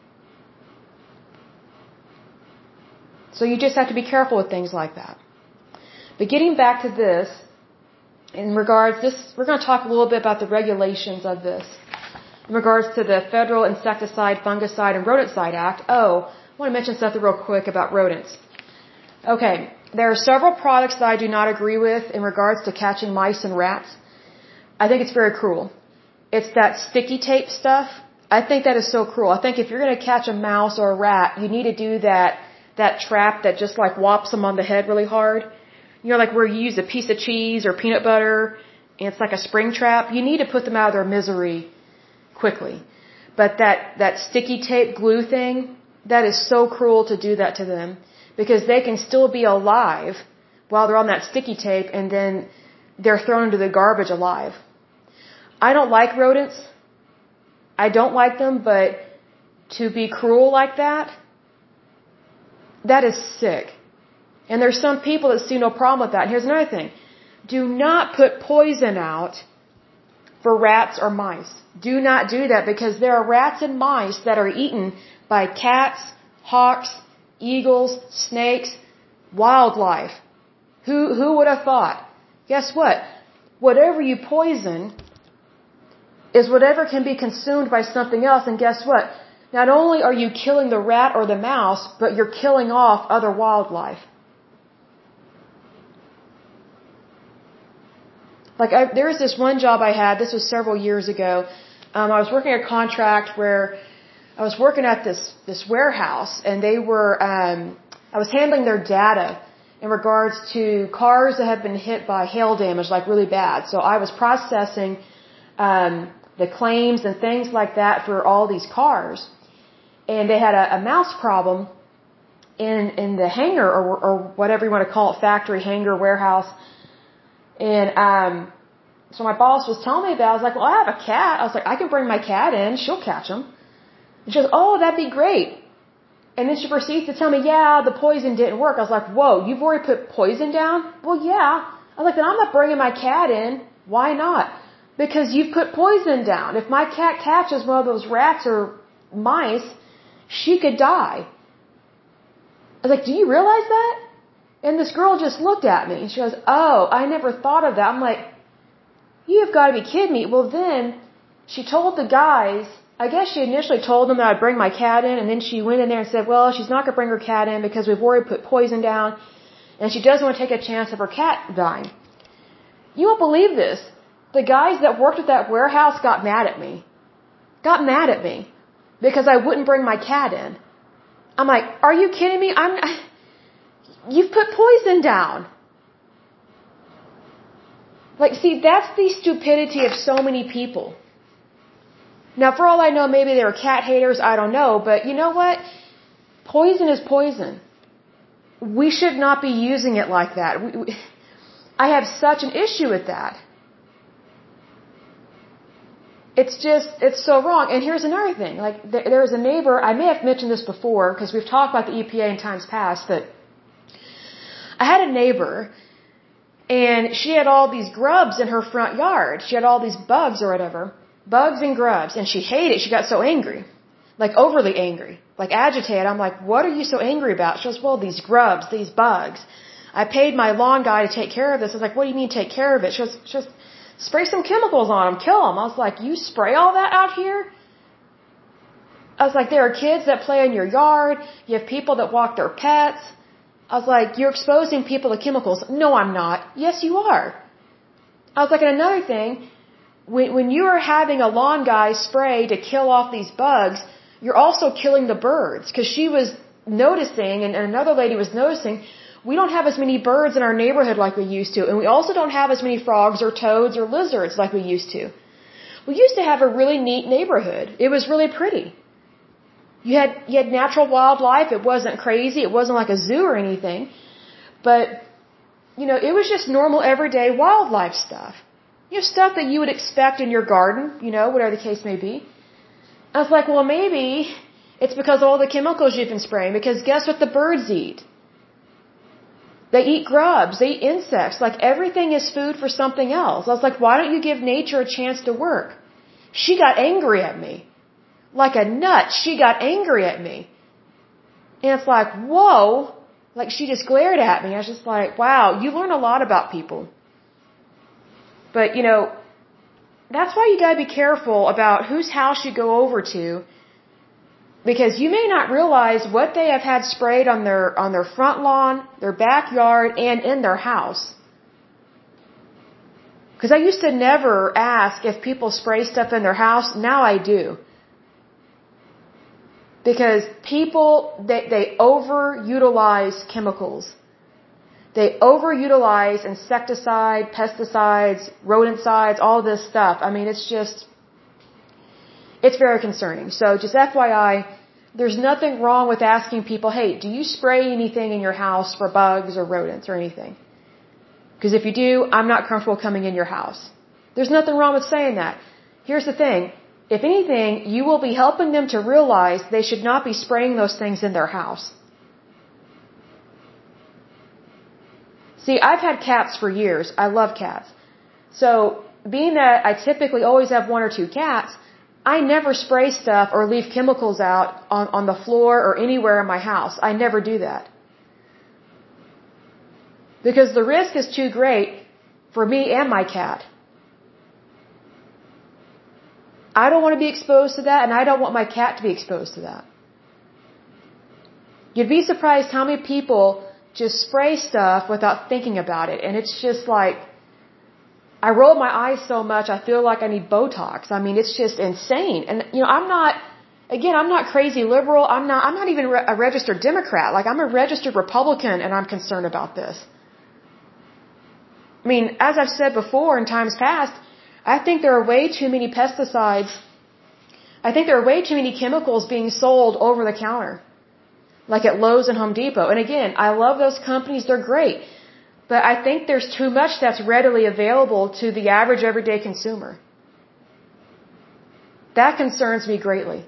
So you just have to be careful with things like that. But getting back to this, in regards this, we're going to talk a little bit about the regulations of this. In regards to the Federal Insecticide, Fungicide, and Rodenticide Act. Oh, I want to mention something real quick about rodents. Okay, there are several products that I do not agree with in regards to catching mice and rats. I think it's very cruel. It's that sticky tape stuff. I think that is so cruel. I think if you're going to catch a mouse or a rat, you need to do that, that trap that just like whops them on the head really hard. You know, like where you use a piece of cheese or peanut butter, and it's like a spring trap. You need to put them out of their misery quickly. But that, that sticky tape glue thing, that is so cruel to do that to them. Because they can still be alive while they're on that sticky tape, and then they're thrown into the garbage alive. I don't like rodents. I don't like them, but to be cruel like that, that is sick. And there's some people that see no problem with that. And here's another thing. Do not put poison out for rats or mice. Do not do that, because there are rats and mice that are eaten by cats, hawks, eagles, snakes, wildlife. Who, who would have thought? Guess what? Whatever you poison is whatever can be consumed by something else, and guess what? Not only are you killing the rat or the mouse, but you're killing off other wildlife. Like, I, there was this one job I had, this was several years ago. Um, I was working a contract where I was working at this, this warehouse, and they were, um, I was handling their data in regards to cars that had been hit by hail damage, like really bad. So I was processing, um, the claims and things like that for all these cars. And they had a, a mouse problem in, in the hangar, or, or whatever you want to call it, factory, hangar, warehouse. And, um, so my boss was telling me about it. I was like, well, I have a cat. I was like, I can bring my cat in. She'll catch them. And she goes, oh, that'd be great. And then she proceeds to tell me, yeah, the poison didn't work. I was like, whoa, you've already put poison down? Well, yeah. I was like, then I'm not bringing my cat in. Why not? Because you've put poison down. If my cat catches one of those rats or mice, she could die. I was like, do you realize that? And this girl just looked at me. And she goes, oh, I never thought of that. I'm like, you've got to be kidding me. Well, then she told the guys, I guess she initially told them that I'd bring my cat in, and then she went in there and said, well, she's not going to bring her cat in because we've already put poison down, and she doesn't want to take a chance of her cat dying. You won't believe this. The guys that worked at that warehouse got mad at me. Got mad at me because I wouldn't bring my cat in. I'm like, are you kidding me? I'm, you've put poison down. Like, see, that's the stupidity of so many people. Now, for all I know, maybe they were cat haters, I don't know, but you know what? Poison is poison. We should not be using it like that. We, we, I have such an issue with that. It's just, it's so wrong. And here's another thing. Like, there, there was a neighbor, I may have mentioned this before, because we've talked about the E P A in times past, but I had a neighbor, and she had all these grubs in her front yard. She had all these bugs or whatever. Bugs and grubs, and she hated it. She got so angry, like overly angry, like agitated. I'm like, what are you so angry about? She goes, well, these grubs, these bugs. I paid my lawn guy to take care of this. I was like, what do you mean take care of it? She goes, she goes, spray some chemicals on them, kill them. I was like, you spray all that out here? I was like, there are kids that play in your yard. You have people that walk their pets. I was like, you're exposing people to chemicals. No, I'm not. Yes, you are. I was like, and another thing, When, when you are having a lawn guy spray to kill off these bugs, you're also killing the birds. Because she was noticing, and another lady was noticing, we don't have as many birds in our neighborhood like we used to. And we also don't have as many frogs or toads or lizards like we used to. We used to have a really neat neighborhood. It was really pretty. You had, you had natural wildlife. It wasn't crazy. It wasn't like a zoo or anything. But, you know, it was just normal everyday wildlife stuff. You know, stuff that you would expect in your garden, you know, whatever the case may be. I was like, well, maybe it's because of all the chemicals you've been spraying. Because guess what the birds eat? They eat grubs. They eat insects. Like, everything is food for something else. I was like, why don't you give nature a chance to work? She got angry at me. Like a nut, she got angry at me. And it's like, whoa. Like, she just glared at me. I was just like, wow, you learn a lot about people. But, you know, that's why you gotta be careful about whose house you go over to. Because you may not realize what they have had sprayed on their, on their front lawn, their backyard, and in their house. Because I used to never ask if people spray stuff in their house. Now I do. Because people, they, they overutilize chemicals. They overutilize insecticide, pesticides, rodenticides, all this stuff. I mean, it's just, it's very concerning. So just F Y I, there's nothing wrong with asking people, hey, do you spray anything in your house for bugs or rodents or anything? Because if you do, I'm not comfortable coming in your house. There's nothing wrong with saying that. Here's the thing. If anything, you will be helping them to realize they should not be spraying those things in their house. See, I've had cats for years. I love cats. So, being that I typically always have one or two cats, I never spray stuff or leave chemicals out on, on the floor or anywhere in my house. I never do that. Because the risk is too great for me and my cat. I don't want to be exposed to that, and I don't want my cat to be exposed to that. You'd be surprised how many people just spray stuff without thinking about it. And it's just like, I roll my eyes so much, I feel like I need Botox. I mean, it's just insane. And, you know, I'm not, again, I'm not crazy liberal. I'm not, I'm not even a registered Democrat. Like, I'm a registered Republican, and I'm concerned about this. I mean, as I've said before in times past, I think there are way too many pesticides. I think there are way too many chemicals being sold over the counter. Like at Lowe's and Home Depot. And again, I love those companies. They're great. But I think there's too much that's readily available to the average everyday consumer. That concerns me greatly.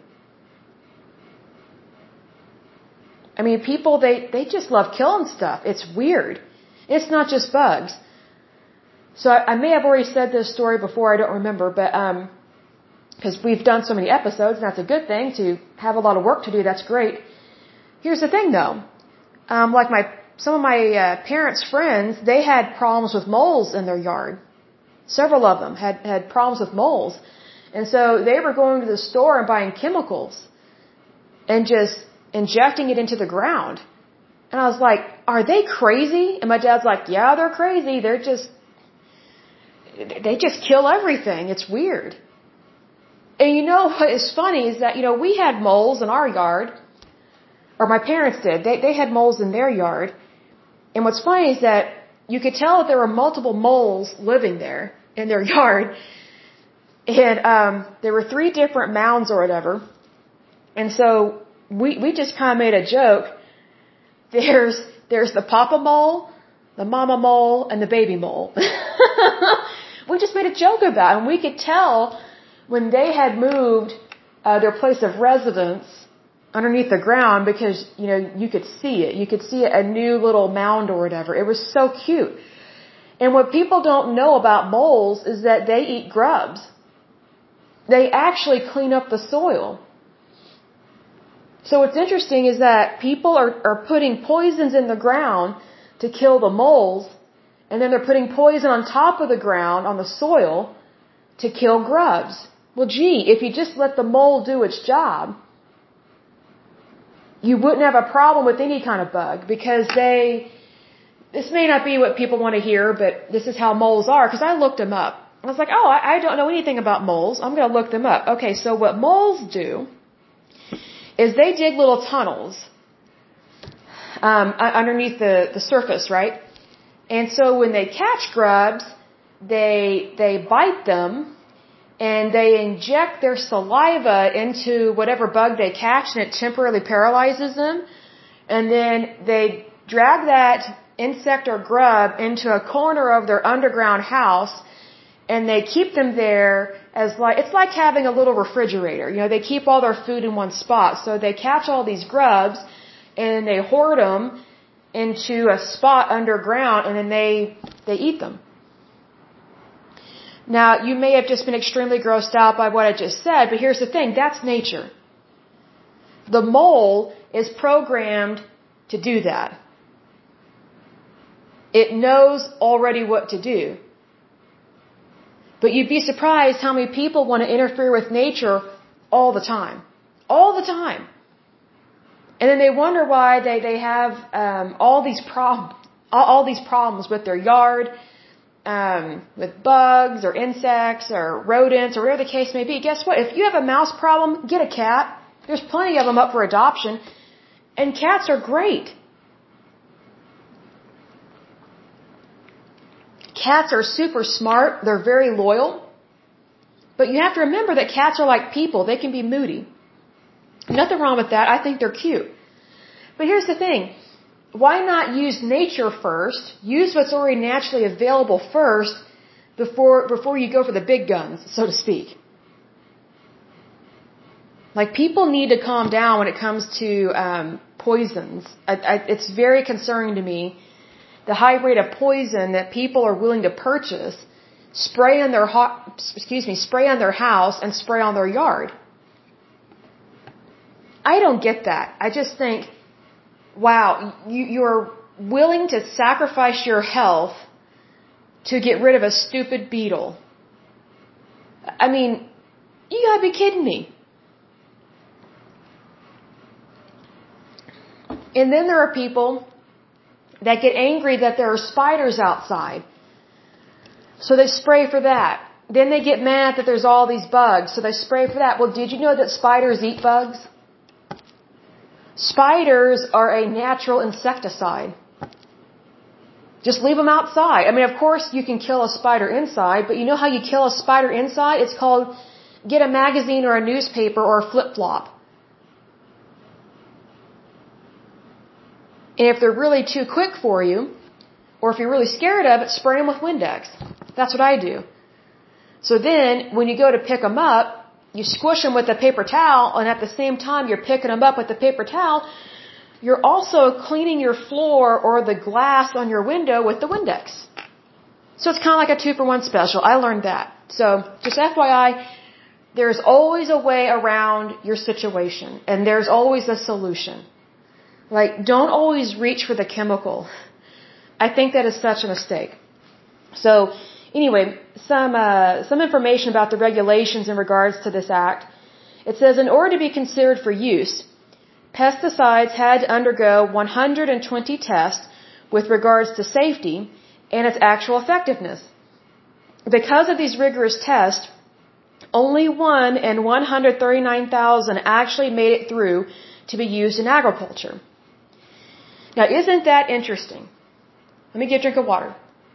I mean, people, they, they just love killing stuff. It's weird. It's not just bugs. So I, I may have already said this story before, I don't remember, but, um, because we've done so many episodes, and that's a good thing to have a lot of work to do, that's great. Here's the thing though, um, like my, some of my uh, parents' friends, they had problems with moles in their yard. Several of them had, had problems with moles. And so they were going to the store and buying chemicals and just injecting it into the ground. And I was like, are they crazy? And my dad's like, yeah, they're crazy. They're just, they just kill everything. It's weird. And you know what is funny is that, you know, we had moles in our yard, or my parents did. They, they had moles in their yard. And what's funny is that you could tell that there were multiple moles living there in their yard. And um, there were three different mounds or whatever. And so we, we just kind of made a joke. There's, there's the papa mole, the mama mole, and the baby mole. We just made a joke about it. And we could tell when they had moved uh, their place of residence underneath the ground because, you know, you could see it. You could see a new little mound or whatever. It was so cute. And what people don't know about moles is that they eat grubs. They actually clean up the soil. So what's interesting is that people are, are putting poisons in the ground to kill the moles, and then they're putting poison on top of the ground, on the soil, to kill grubs. Well, gee, if you just let the mole do its job, you wouldn't have a problem with any kind of bug because they, this may not be what people want to hear, but this is how moles are, because I looked them up. I was like, oh, I, I don't know anything about moles. I'm going to look them up. Okay, so what moles do is they dig little tunnels um, underneath the, the surface, right? And so when they catch grubs, they they bite them, and they inject their saliva into whatever bug they catch, and it temporarily paralyzes them. And then they drag that insect or grub into a corner of their underground house, and they keep them there as like, it's like having a little refrigerator. You know, they keep all their food in one spot. So they catch all these grubs and they hoard them into a spot underground, and then they, they eat them. Now, you may have just been extremely grossed out by what I just said, but here's the thing, that's nature. The mole is programmed to do that. It knows already what to do. But you'd be surprised how many people want to interfere with nature all the time. All the time. And then they wonder why they, they have um, all these prob- all, all these problems with their yard, um, with bugs or insects or rodents or whatever the case may be. Guess what? If you have a mouse problem, get a cat. There's plenty of them up for adoption. And cats are great. Cats are super smart. They're very loyal. But you have to remember that cats are like people. They can be moody. Nothing wrong with that. I think they're cute. But here's the thing. Why not use nature first? Use what's already naturally available first before, before you go for the big guns, so to speak. Like, people need to calm down when it comes to um, poisons. I, I, it's very concerning to me, the high rate of poison that people are willing to purchase, spray on their ho- excuse me, spray on their house and spray on their yard. I don't get that. I just think, wow, you, you're willing to sacrifice your health to get rid of a stupid beetle. I mean, you gotta be kidding me. And then there are people that get angry that there are spiders outside. So they spray for that. Then they get mad that there's all these bugs, so they spray for that. Well, did you know that spiders eat bugs? Spiders are a natural insecticide. Just leave them outside. I mean, of course, you can kill a spider inside, but you know how you kill a spider inside? It's called get a magazine or a newspaper or a flip-flop. And if they're really too quick for you, or if you're really scared of it, spray them with Windex. That's what I do. So then, when you go to pick them up, you squish them with a paper towel, and at the same time you're picking them up with the paper towel, you're also cleaning your floor or the glass on your window with the Windex. So it's kind of like a two-for-one special. I learned that. So, just F Y I, there's always a way around your situation, and there's always a solution. Like, don't always reach for the chemical. I think that is such a mistake. So, anyway, some uh, some information about the regulations in regards to this act. It says, in order to be considered for use, pesticides had to undergo one hundred twenty tests with regards to safety and its actual effectiveness. Because of these rigorous tests, only one in one hundred thirty-nine thousand actually made it through to be used in agriculture. Now, isn't that interesting? Let me get a drink of water.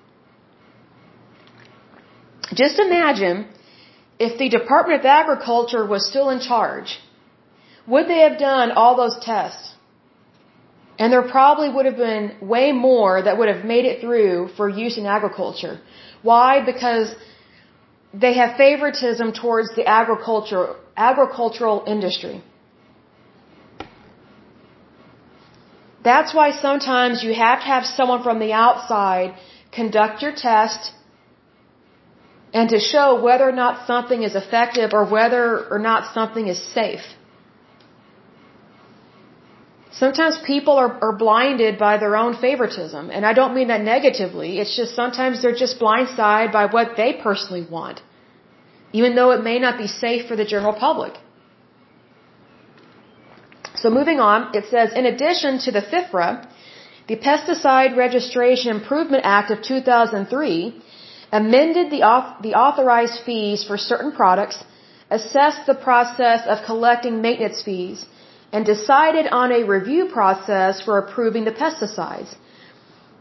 Just imagine if the Department of Agriculture was still in charge. Would they have done all those tests? And there probably would have been way more that would have made it through for use in agriculture. Why? Because they have favoritism towards the agriculture, agricultural industry. That's why sometimes you have to have someone from the outside conduct your test and to show whether or not something is effective or whether or not something is safe. Sometimes people are, are blinded by their own favoritism, and I don't mean that negatively. It's just sometimes they're just blindsided by what they personally want, even though it may not be safe for the general public. So moving on, it says, in addition to the FIFRA, the Pesticide Registration Improvement Act of two thousand three amended the, auth- the authorized fees for certain products, assessed the process of collecting maintenance fees, and decided on a review process for approving the pesticides.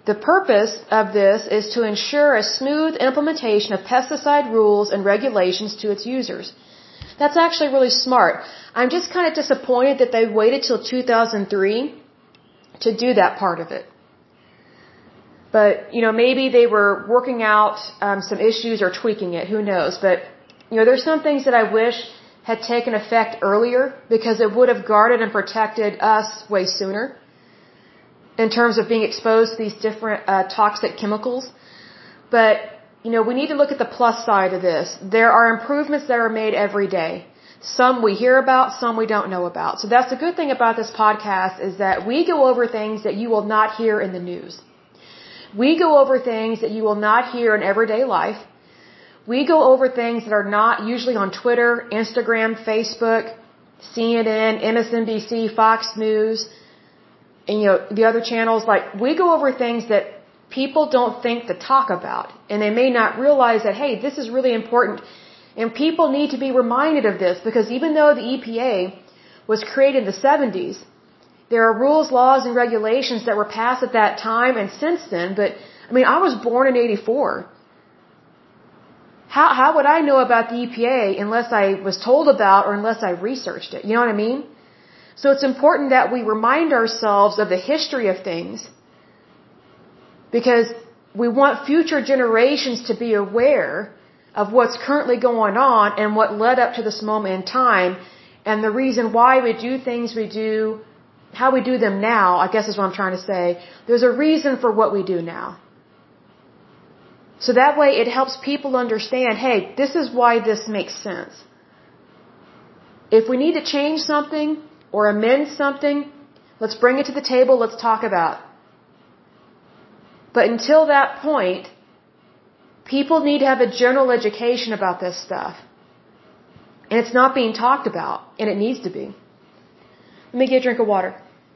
The purpose of this is to ensure a smooth implementation of pesticide rules and regulations to its users. That's actually really smart. I'm just kind of disappointed that they waited till two thousand three to do that part of it. But, you know, maybe they were working out um, some issues or tweaking it. Who knows? But, you know, there's some things that I wish had taken effect earlier because it would have guarded and protected us way sooner in terms of being exposed to these different uh, toxic chemicals. But, you know, we need to look at the plus side of this. There are improvements that are made every day. Some we hear about, some we don't know about. So that's the good thing about this podcast is that we go over things that you will not hear in the news. We go over things that you will not hear in everyday life. We go over things that are not usually on Twitter, Instagram, Facebook, C N N, M S N B C, Fox News, and you know, the other channels. Like, we go over things that people don't think to talk about. And they may not realize that, hey, this is really important. And people need to be reminded of this because even though the E P A was created in the seventies, there are rules, laws, and regulations that were passed at that time and since then. But, I mean, I was born in eighty-four. How, how would I know about the E P A unless I was told about or unless I researched it? You know what I mean? So it's important that we remind ourselves of the history of things because we want future generations to be aware of what's currently going on and what led up to this moment in time and the reason why we do things we do, how we do them now, I guess is what I'm trying to say. There's a reason for what we do now. So that way it helps people understand, hey, this is why this makes sense. If we need to change something or amend something, let's bring it to the table, let's talk about it. But until that point, people need to have a general education about this stuff. And it's not being talked about, and it needs to be. Let me get a drink of water.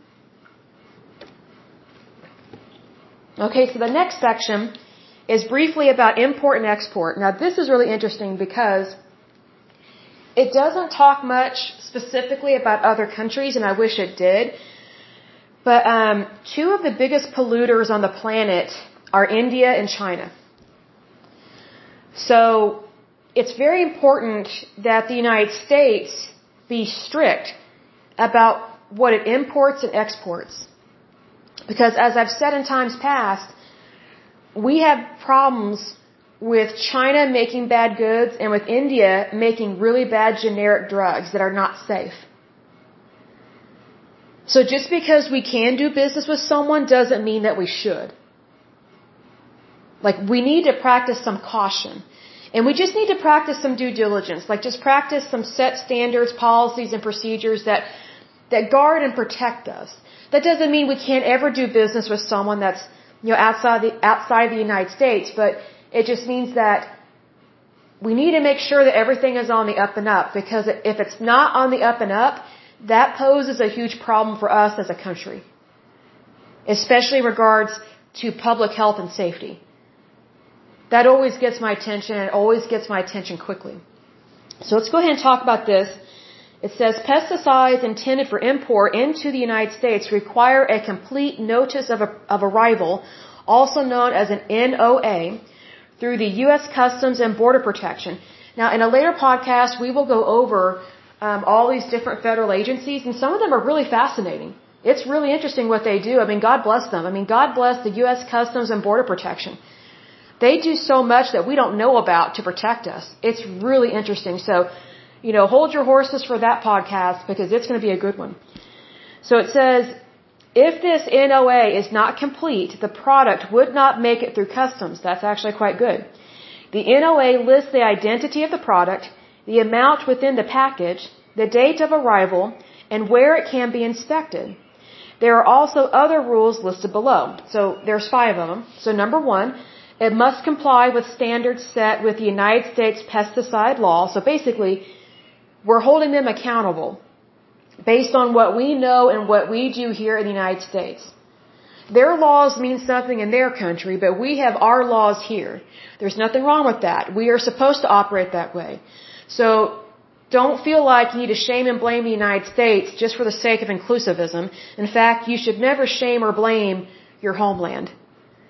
Okay, so the next section is briefly about import and export. Now, this is really interesting because it doesn't talk much specifically about other countries, and I wish it did. But um, two of the biggest polluters on the planet are India and China. So it's very important that the United States be strict about what it imports and exports. Because as I've said in times past, we have problems with China making bad goods and with India making really bad generic drugs that are not safe. So just because we can do business with someone doesn't mean that we should. Like, we need to practice some caution. And we just need to practice some due diligence. Like, just practice some set standards, policies, and procedures that that guard and protect us. That doesn't mean we can't ever do business with someone that's, you know, outside the outside the United States, but it just means that we need to make sure that everything is on the up and up, because if it's not on the up and up, that poses a huge problem for us as a country, especially in regards to public health and safety. That always gets my attention, and it always gets my attention quickly. So let's go ahead and talk about this. It says pesticides intended for import into the United States require a complete notice of, a, of arrival, also known as an N O A, through the U S Customs and Border Protection. Now, in a later podcast, we will go over um, all these different federal agencies, and some of them are really fascinating. It's really interesting what they do. I mean, God bless them. I mean, God bless the U S Customs and Border Protection. They do so much that we don't know about to protect us. It's really interesting. So, you know, hold your horses for that podcast because it's going to be a good one. So it says, if this N O A is not complete, the product would not make it through customs. That's actually quite good. The N O A lists the identity of the product, the amount within the package, the date of arrival, and where it can be inspected. There are also other rules listed below. So there's five of them. So number one, it must comply with standards set with the United States pesticide law. So basically, we're holding them accountable based on what we know and what we do here in the United States. Their laws mean something in their country, but we have our laws here. There's nothing wrong with that. We are supposed to operate that way. So don't feel like you need to shame and blame the United States just for the sake of inclusivism. In fact, you should never shame or blame your homeland.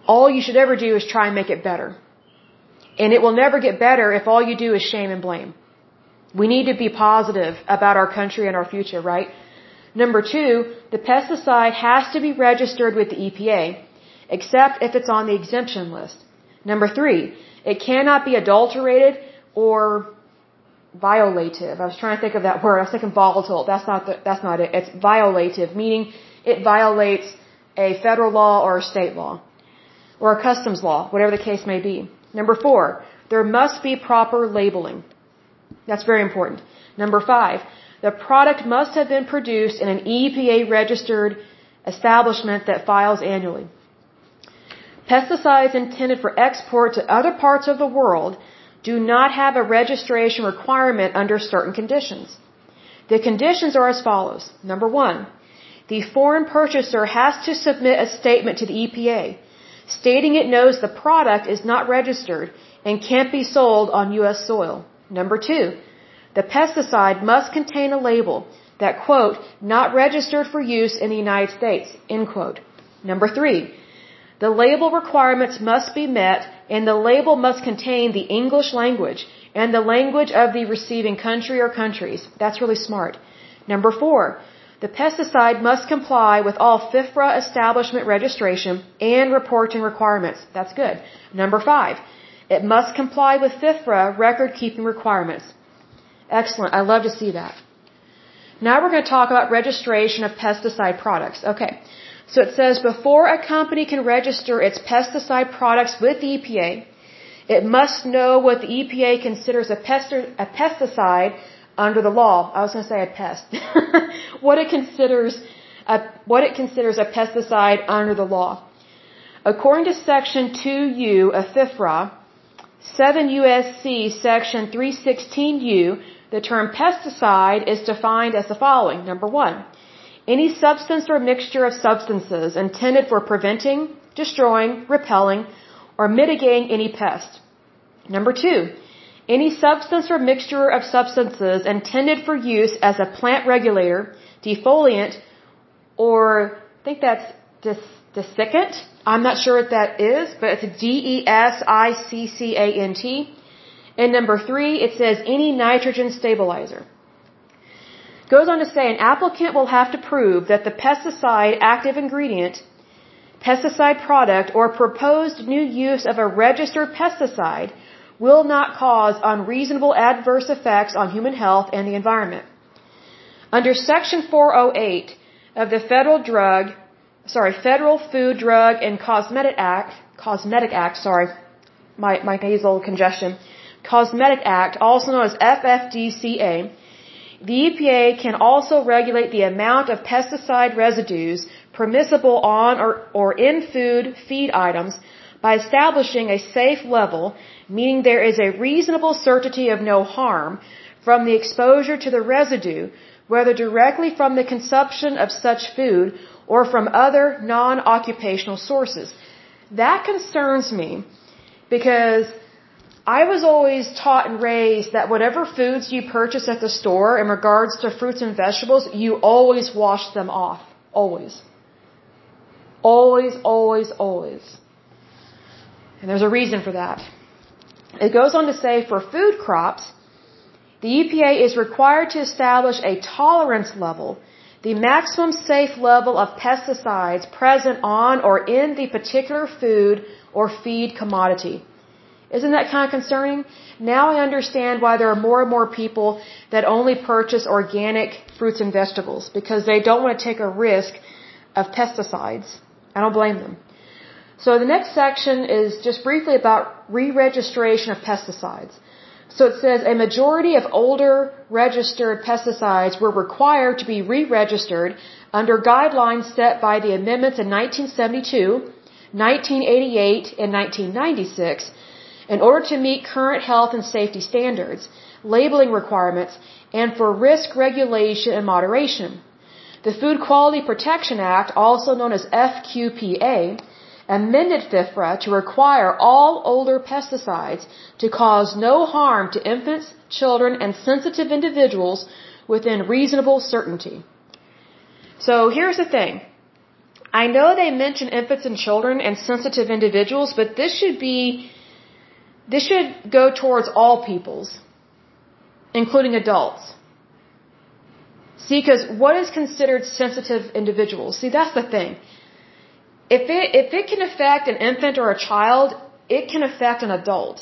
all you should ever do is try and make it better. And it will never get better if all you do is shame and blame. We need to be positive about our country and our future, right? Number two, the pesticide has to be registered with the E P A, except if it's on the exemption list. Number three, it cannot be adulterated or violative. I was trying to think of that word. I was thinking volatile. That's not the, that's not it. It's violative, meaning it violates a federal law or a state law or a customs law, whatever the case may be. Number four, there must be proper labeling. That's very important. Number five, the product must have been produced in an E P A-registered establishment that files annually. Pesticides intended for export to other parts of the world do not have a registration requirement under certain conditions. The conditions are as follows. Number one, the foreign purchaser has to submit a statement to the E P A stating it knows the product is not registered and can't be sold on U S soil. Number two, the pesticide must contain a label that, quote, not registered for use in the United States, end quote. Number three, the label requirements must be met and the label must contain the English language and the language of the receiving country or countries. That's really smart. Number four, the pesticide must comply with all FIFRA establishment registration and reporting requirements. That's good. Number five, it must comply with FIFRA record-keeping requirements. Excellent. I love to see that. Now we're going to talk about registration of pesticide products. Okay. So it says before a company can register its pesticide products with the E P A, it must know what the E P A considers a, pesti- a pesticide under the law. I was going to say a pest. what it considers a, what it considers a pesticide under the law. According to Section two U of FIFRA, seven U S C Section three sixteen U, the term pesticide is defined as the following. Number one, any substance or mixture of substances intended for preventing, destroying, repelling, or mitigating any pest. Number two, any substance or mixture of substances intended for use as a plant regulator, defoliant, or I think that's dis- desiccant. I'm not sure what that is, but it's D E S I C C A N T. And number three, it says any nitrogen stabilizer. Goes on to say an applicant will have to prove that the pesticide active ingredient, pesticide product, or proposed new use of a registered pesticide will not cause unreasonable adverse effects on human health and the environment. Under Section four oh eight of the Federal Drug, sorry, Federal Food, Drug, and Cosmetic Act, Cosmetic Act, sorry, my, my nasal congestion, Cosmetic Act, also known as F F D C A, the E P A can also regulate the amount of pesticide residues permissible on or, or in food, feed items by establishing a safe level, meaning there is a reasonable certainty of no harm from the exposure to the residue, whether directly from the consumption of such food or from other non-occupational sources. That concerns me because I was always taught and raised that whatever foods you purchase at the store in regards to fruits and vegetables, you always wash them off. Always. Always, always, always. And there's a reason for that. It goes on to say for food crops, the E P A is required to establish a tolerance level, the maximum safe level of pesticides present on or in the particular food or feed commodity. Isn't that kind of concerning? Now I understand why there are more and more people that only purchase organic fruits and vegetables because they don't want to take a risk of pesticides. I don't blame them. So the next section is just briefly about re-registration of pesticides. So it says a majority of older registered pesticides were required to be re-registered under guidelines set by the amendments in nineteen seventy-two, nineteen eighty-eight, and nineteen ninety-six in order to meet current health and safety standards, labeling requirements, and for risk regulation and moderation. The Food Quality Protection Act, also known as F Q P A, amended FIFRA to require all older pesticides to cause no harm to infants, children, and sensitive individuals within reasonable certainty. So here's the thing. I know they mention infants and children and sensitive individuals, but this should be, this should go towards all peoples, including adults. See, because what is considered sensitive individuals? See, that's the thing. If it, if it can affect an infant or a child, it can affect an adult.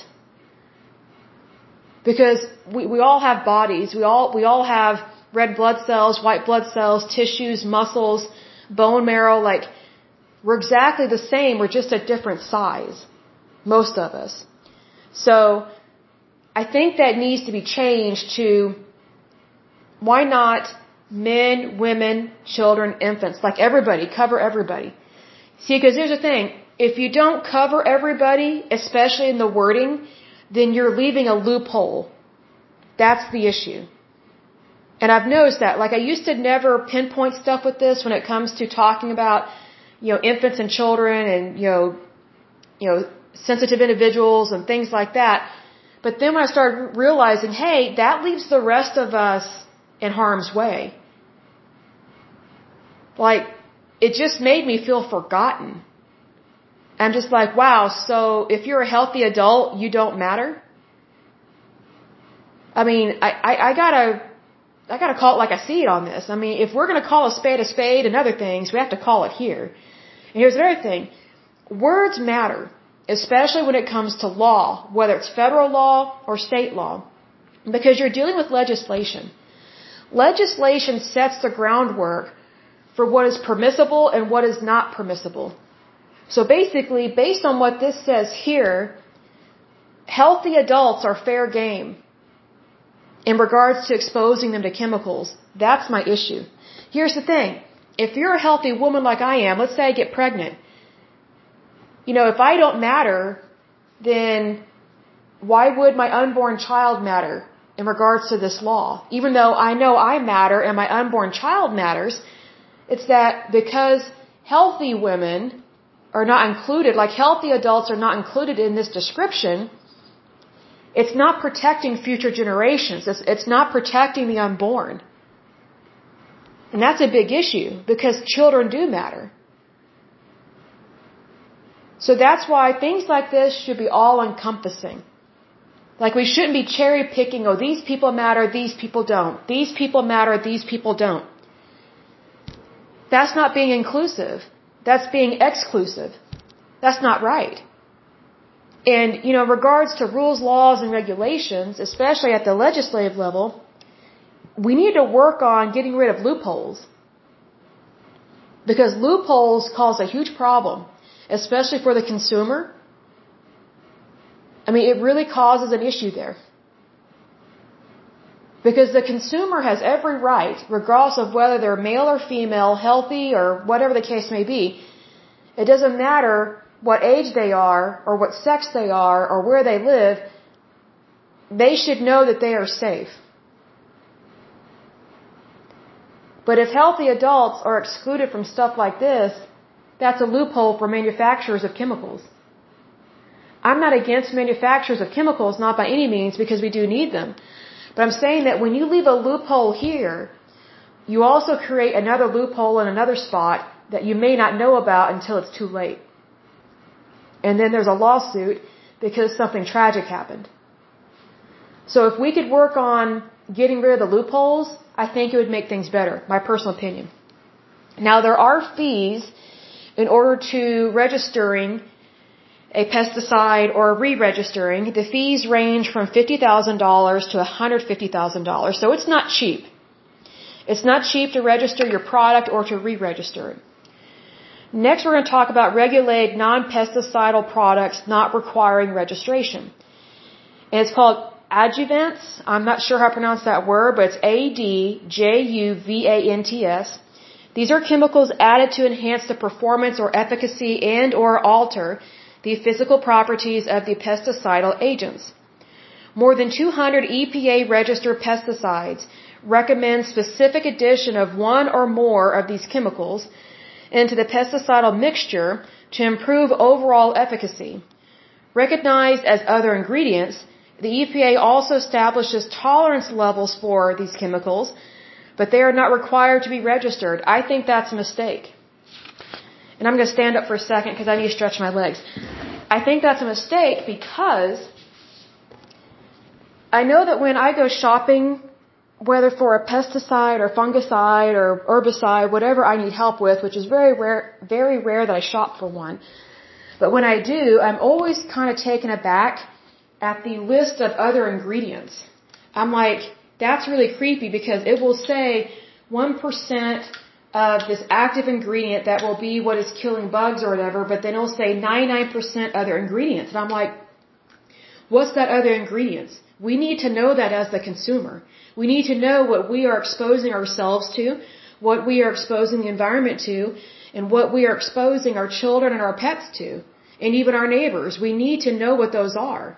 Because we, we all have bodies, we all, we all have red blood cells, white blood cells, tissues, muscles, bone marrow, like, we're exactly the same, we're just a different size. Most of us. So, I think that needs to be changed to, why not men, women, children, infants, like everybody, cover everybody. See, because here's the thing, if you don't cover everybody, especially in the wording, then you're leaving a loophole. That's the issue. And I've noticed that, like I used to never pinpoint stuff with this when it comes to talking about, you know, infants and children and, you know, you know, sensitive individuals and things like that. But then when I started realizing, hey, that leaves the rest of us in harm's way. Like, it just made me feel forgotten. I'm just like, wow, so if you're a healthy adult, you don't matter? I mean, I, I, I gotta, I gotta call it like I see it on this. I mean, if we're gonna call a spade a spade and other things, we have to call it here. And here's the other thing. Words matter, especially when it comes to law, whether it's federal law or state law, because you're dealing with legislation. Legislation sets the groundwork for what is permissible and what is not permissible. So basically, based on what this says here, healthy adults are fair game in regards to exposing them to chemicals. That's my issue. Here's the thing. If you're a healthy woman like I am, let's say I get pregnant. You know, if I don't matter, then why would my unborn child matter in regards to this law? Even though I know I matter and my unborn child matters, it's that because healthy women are not included, like healthy adults are not included in this description, it's not protecting future generations. It's, it's not protecting the unborn. And that's a big issue because children do matter. So that's why things like this should be all encompassing. Like we shouldn't be cherry picking, oh, these people matter, these people don't. These people matter, these people don't. That's not being inclusive. That's being exclusive. That's not right. And, you know, in regards to rules, laws, and regulations, especially at the legislative level, we need to work on getting rid of loopholes. Because loopholes cause a huge problem, especially for the consumer. I mean, it really causes an issue there. Because the consumer has every right, regardless of whether they're male or female, healthy or whatever the case may be. It doesn't matter what age they are or what sex they are or where they live. They should know that they are safe. But if healthy adults are excluded from stuff like this, that's a loophole for manufacturers of chemicals. I'm not against manufacturers of chemicals, not by any means, because we do need them. But I'm saying that when you leave a loophole here, you also create another loophole in another spot that you may not know about until it's too late. And then there's a lawsuit because something tragic happened. So if we could work on getting rid of the loopholes, I think it would make things better, my personal opinion. Now there are fees in order to registering a pesticide or re-registering. The fees range from fifty thousand dollars to one hundred fifty thousand dollars, so it's not cheap. It's not cheap to register your product or to re-register it. Next, we're going to talk about regulated non-pesticidal products not requiring registration. And it's called adjuvants. I'm not sure how to pronounce that word, but it's A D J U V A N T S. These are chemicals added to enhance the performance or efficacy and or alter the physical properties of the pesticidal agents. More than two hundred E P A-registered pesticides recommend specific addition of one or more of these chemicals into the pesticidal mixture to improve overall efficacy. Recognized as other ingredients, the E P A also establishes tolerance levels for these chemicals, but they are not required to be registered. I think that's a mistake. And I'm going to stand up for a second because I need to stretch my legs. I think that's a mistake because I know that when I go shopping, whether for a pesticide or fungicide or herbicide, whatever I need help with, which is very rare, very rare that I shop for one. But when I do, I'm always kind of taken aback at the list of other ingredients. I'm like, that's really creepy because it will say one percent of this active ingredient that will be what is killing bugs or whatever, but then it'll say ninety-nine percent other ingredients. And I'm like, what's that other ingredients? We need to know that as the consumer. We need to know what we are exposing ourselves to, what we are exposing the environment to, and what we are exposing our children and our pets to, and even our neighbors. We need to know what those are.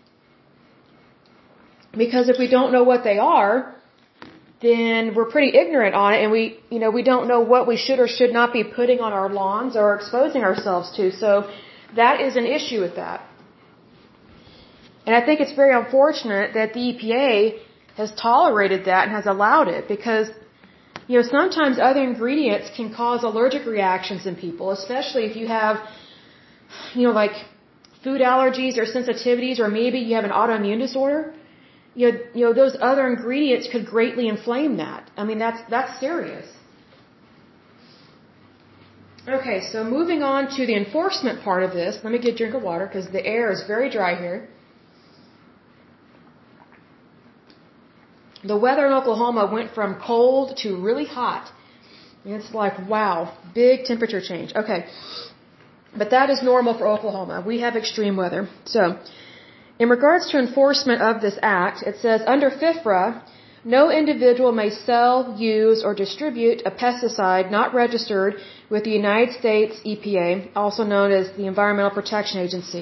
Because if we don't know what they are, then we're pretty ignorant on it, and we, you know, we don't know what we should or should not be putting on our lawns or exposing ourselves to. So that is an issue with that. And I think it's very unfortunate that the E P A has tolerated that and has allowed it because, you know, sometimes other ingredients can cause allergic reactions in people, especially if you have, you know, like food allergies or sensitivities, or maybe you have an autoimmune disorder. You know, you know, those other ingredients could greatly inflame that. I mean, that's, that's serious. Okay, so moving on to the enforcement part of this, let me get a drink of water because the air is very dry here. The weather in Oklahoma went from cold to really hot. It's like, wow, big temperature change. Okay. But that is normal for Oklahoma. We have extreme weather. So, in regards to enforcement of this act, it says, under FIFRA, no individual may sell, use, or distribute a pesticide not registered with the United States E P A, also known as the Environmental Protection Agency.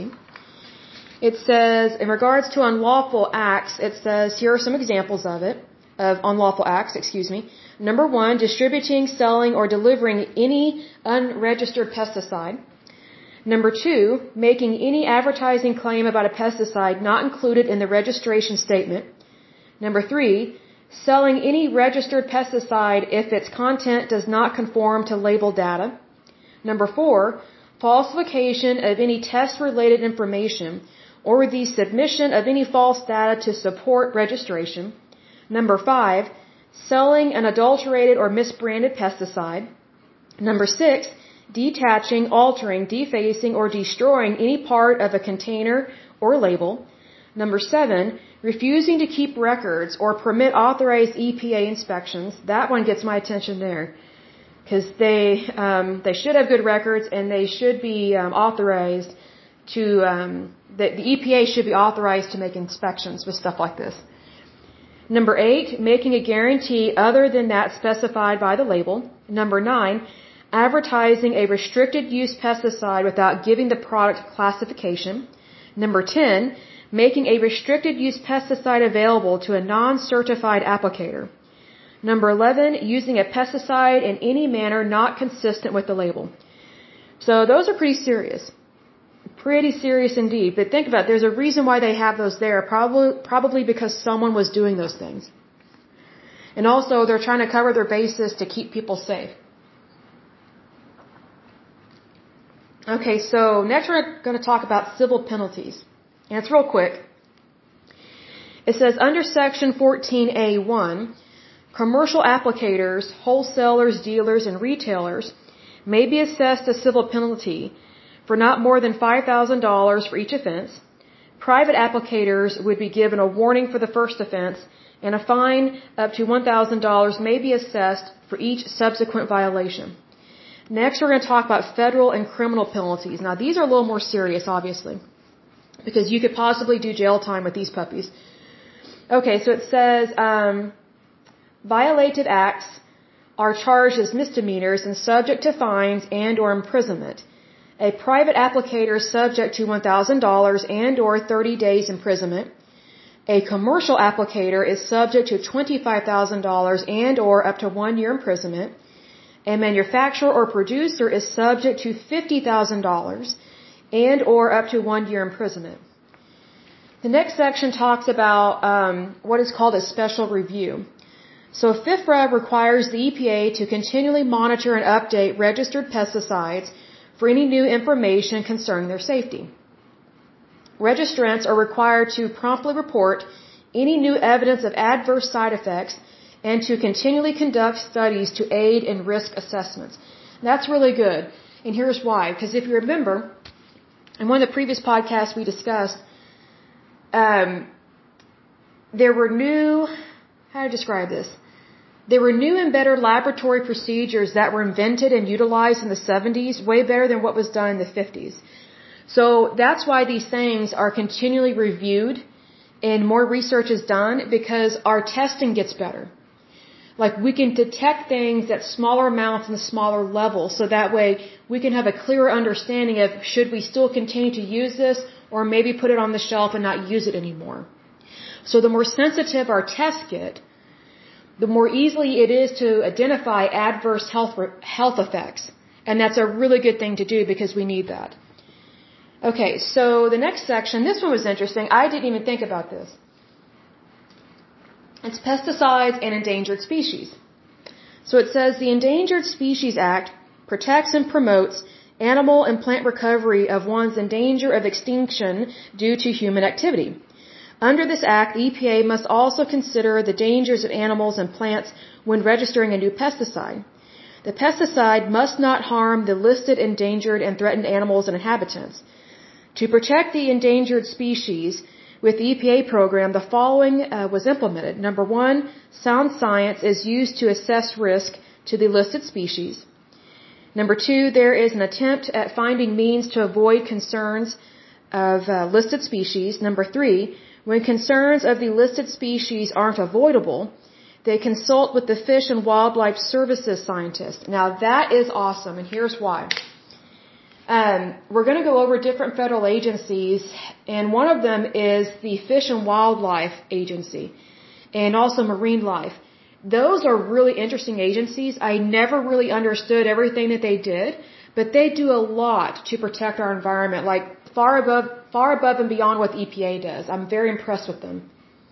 It says, in regards to unlawful acts, it says, here are some examples of it, of unlawful acts, excuse me. Number one, distributing, selling, or delivering any unregistered pesticide. Number two, making any advertising claim about a pesticide not included in the registration statement. Number three, selling any registered pesticide if its content does not conform to label data. Number four, falsification of any test-related information or the submission of any false data to support registration. Number five, selling an adulterated or misbranded pesticide. Number six, detaching, altering, defacing, or destroying any part of a container or label. Number seven, refusing to keep records or permit authorized E P A inspections. That one gets my attention there because they um, they should have good records and they should be um, authorized to um, the, the E P A should be authorized to make inspections with stuff like this. Number eight, making a guarantee other than that specified by the label. Number nine, advertising a restricted use pesticide without giving the product classification. Number ten, making a restricted use pesticide available to a non-certified applicator. Number eleven, using a pesticide in any manner not consistent with the label. So those are pretty serious. Pretty serious indeed. But think about it, there's a reason why they have those there, probably probably because someone was doing those things. And also they're trying to cover their bases to keep people safe. Okay, so next we're going to talk about civil penalties. And it's real quick. It says under section fourteen A one, commercial applicators, wholesalers, dealers, and retailers may be assessed a civil penalty for not more than five thousand dollars for each offense. Private applicators would be given a warning for the first offense, and a fine up to one thousand dollars may be assessed for each subsequent violation. Next, we're going to talk about federal and criminal penalties. Now, these are a little more serious, obviously, because you could possibly do jail time with these puppies. Okay, so it says um, violated acts are charged as misdemeanors and subject to fines and or imprisonment. A private applicator is subject to one thousand dollars and or thirty days imprisonment. A commercial applicator is subject to twenty-five thousand dollars and or up to one year imprisonment. A manufacturer or producer is subject to fifty thousand dollars and or up to one year imprisonment. The next section talks about um, what is called a special review. So FIFRA requires the E P A to continually monitor and update registered pesticides for any new information concerning their safety. Registrants are required to promptly report any new evidence of adverse side effects and to continually conduct studies to aid in risk assessments. That's really good. And here's why. Because if you remember, in one of the previous podcasts we discussed, um, there were new, how do I describe this? There were new and better laboratory procedures that were invented and utilized in the seventies, way better than what was done in the fifties. So that's why these things are continually reviewed and more research is done, because our testing gets better. Like, we can detect things at smaller amounts and smaller levels, so that way we can have a clearer understanding of should we still continue to use this or maybe put it on the shelf and not use it anymore. So the more sensitive our tests get, the more easily it is to identify adverse health health effects. And that's a really good thing to do because we need that. Okay, so the next section, this one was interesting. I didn't even think about this. It's pesticides and endangered species. So it says the Endangered Species Act protects and promotes animal and plant recovery of ones in danger of extinction due to human activity. Under this act, the E P A must also consider the dangers of animals and plants when registering a new pesticide. The pesticide must not harm the listed endangered and threatened animals and inhabitants. To protect the endangered species, with the E P A program, the following uh, was implemented. Number one, sound science is used to assess risk to the listed species. Number two, there is an attempt at finding means to avoid concerns of uh, listed species. Number three, when concerns of the listed species aren't avoidable, they consult with the Fish and Wildlife Services scientists. Now that is awesome, and here's why. Um, we're going to go over different federal agencies, and one of them is the Fish and Wildlife Agency, and also Marine Life. Those are really interesting agencies. I never really understood everything that they did, but they do a lot to protect our environment, like far above, far above and beyond what the E P A does. I'm very impressed with them.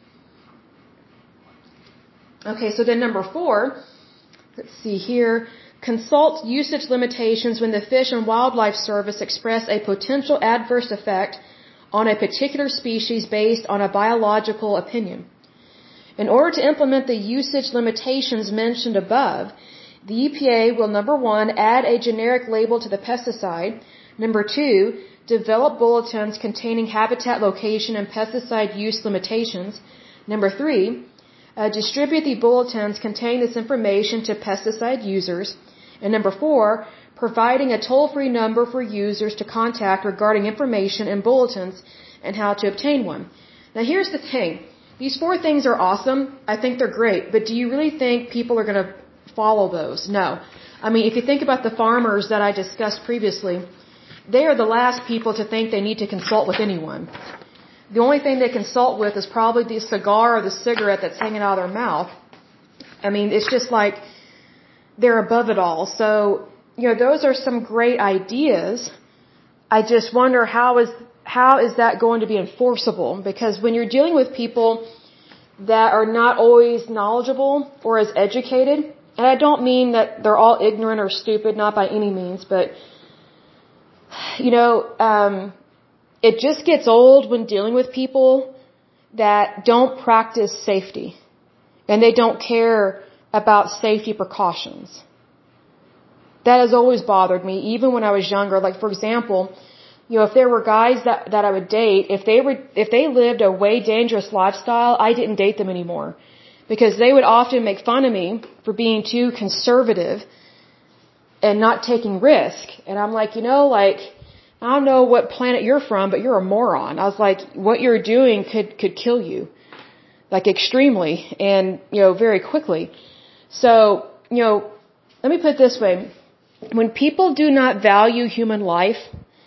Okay, so then number four, let's see here. Consult usage limitations when the Fish and Wildlife Service express a potential adverse effect on a particular species based on a biological opinion. In order to implement the usage limitations mentioned above, the E P A will, number one, add a generic label to the pesticide. Number two, develop bulletins containing habitat location and pesticide use limitations. Number three, uh, distribute the bulletins containing this information to pesticide users. And number four, providing a toll-free number for users to contact regarding information in bulletins and how to obtain one. Now here's the thing. These four things are awesome. I think they're great. But do you really think people are going to follow those? No. I mean, if you think about the farmers that I discussed previously, they are the last people to think they need to consult with anyone. The only thing they consult with is probably the cigar or the cigarette that's hanging out of their mouth. I mean, it's just like they're above it all. So, you know, those are some great ideas. I just wonder how is how is that going to be enforceable? Because when you're dealing with people that are not always knowledgeable or as educated, and I don't mean that they're all ignorant or stupid, not by any means, but, you know, um, it just gets old when dealing with people that don't practice safety and they don't care about safety precautions. That has always bothered me, even when I was younger. Like, for example, you know, if there were guys that, that I would date, if they were, if they lived a way dangerous lifestyle, I didn't date them anymore. Because they would often make fun of me for being too conservative and not taking risk. And I'm like, you know, like, I don't know what planet you're from, but you're a moron. I was like, what you're doing could, could kill you. Like, extremely and, you know, very quickly. So, you know, let me put it this way. When people do not value human life,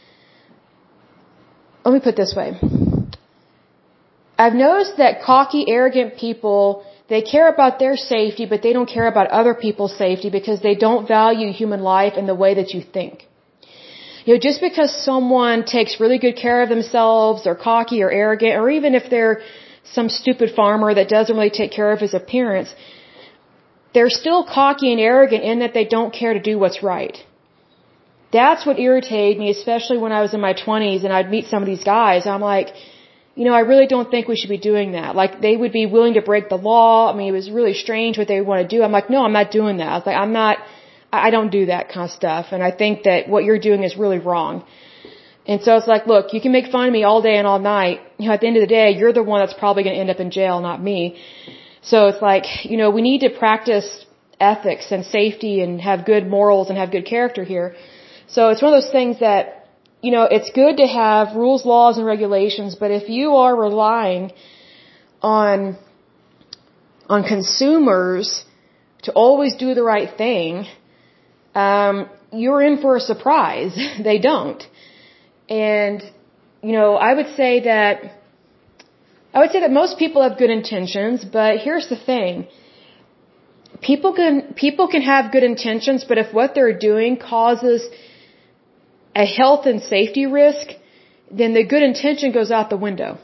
let me put it this way. I've noticed that cocky, arrogant people, they care about their safety, but they don't care about other people's safety because they don't value human life in the way that you think. You know, just because someone takes really good care of themselves, or cocky or arrogant, or even if they're some stupid farmer that doesn't really take care of his appearance, they're still cocky and arrogant in that they don't care to do what's right. That's what irritated me, especially when I was in my twenties and I'd meet some of these guys. I'm like, you know, I really don't think we should be doing that. Like, they would be willing to break the law. I mean, it was really strange what they would want to do. I'm like, no, I'm not doing that. I was like, I'm not, I don't do that kind of stuff. And I think that what you're doing is really wrong. And so it's like, look, you can make fun of me all day and all night. You know, at the end of the day, you're the one that's probably going to end up in jail, not me. So it's like, you know, we need to practice ethics and safety and have good morals and have good character here. So it's one of those things that, you know, it's good to have rules, laws, and regulations, but if you are relying on, on consumers to always do the right thing, um, you're in for a surprise. They don't. And, you know, I would say that, I would say that most people have good intentions, but here's the thing. People can, people can have good intentions, but if what they're doing causes a health and safety risk, then the good intention goes out the window.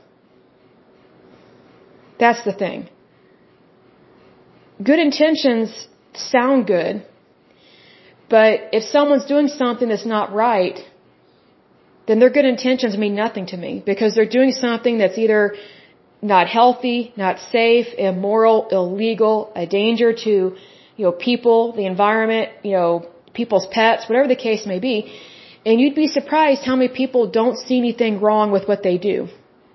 That's the thing. Good intentions sound good, but if someone's doing something that's not right, then their good intentions mean nothing to me, because they're doing something that's either not healthy, not safe, immoral, illegal, a danger to, you know, people, the environment, you know, people's pets, whatever the case may be. And you'd be surprised how many people don't see anything wrong with what they do.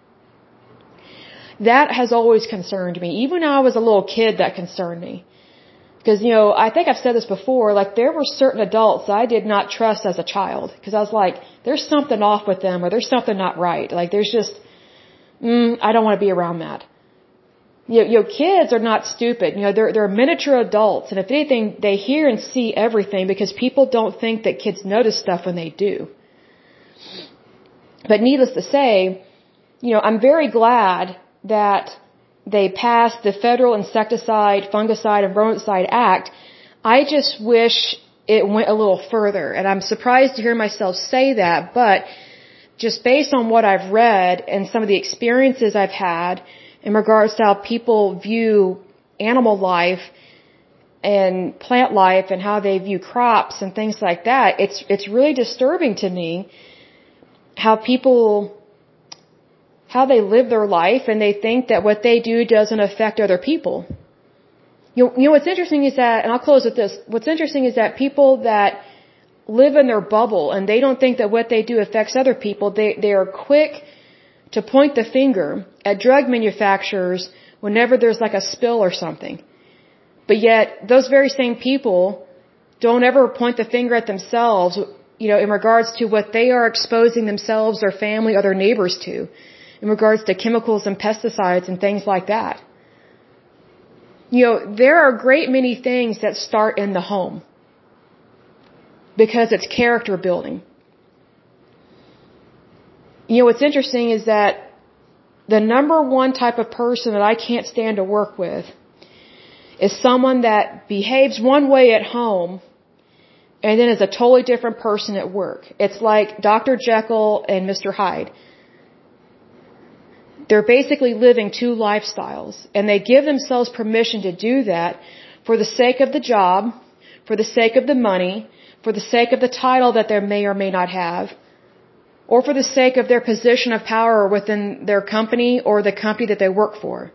That has always concerned me. Even when I was a little kid, that concerned me. Because, you know, I think I've said this before, like, there were certain adults I did not trust as a child. Because I was like, there's something off with them, or there's something not right. Like, there's just, mm, I don't want to be around that. You know, you know, kids are not stupid. You know, they're, they're miniature adults. And if anything, they hear and see everything, because people don't think that kids notice stuff when they do. But needless to say, you know, I'm very glad that they passed the Federal Insecticide, Fungicide, and Rodenticide Act. I just wish it went a little further. And I'm surprised to hear myself say that, but just based on what I've read and some of the experiences I've had in regards to how people view animal life and plant life and how they view crops and things like that, it's it's really disturbing to me how people, how they live their life, and they think that what they do doesn't affect other people. You know, you know what's interesting is that, and I'll close with this, what's interesting is that people that live in their bubble and they don't think that what they do affects other people, they, they are quick to point the finger at drug manufacturers whenever there's like a spill or something. But yet, those very same people don't ever point the finger at themselves, you know, in regards to what they are exposing themselves, their family, or their neighbors to, in regards to chemicals and pesticides and things like that. You know, there are a great many things that start in the home, because it's character building. You know, what's interesting is that the number one type of person that I can't stand to work with is someone that behaves one way at home and then is a totally different person at work. It's like Doctor Jekyll and Mister Hyde. They're basically living two lifestyles, and they give themselves permission to do that for the sake of the job, for the sake of the money, for the sake of the title that they may or may not have, or for the sake of their position of power within their company or the company that they work for.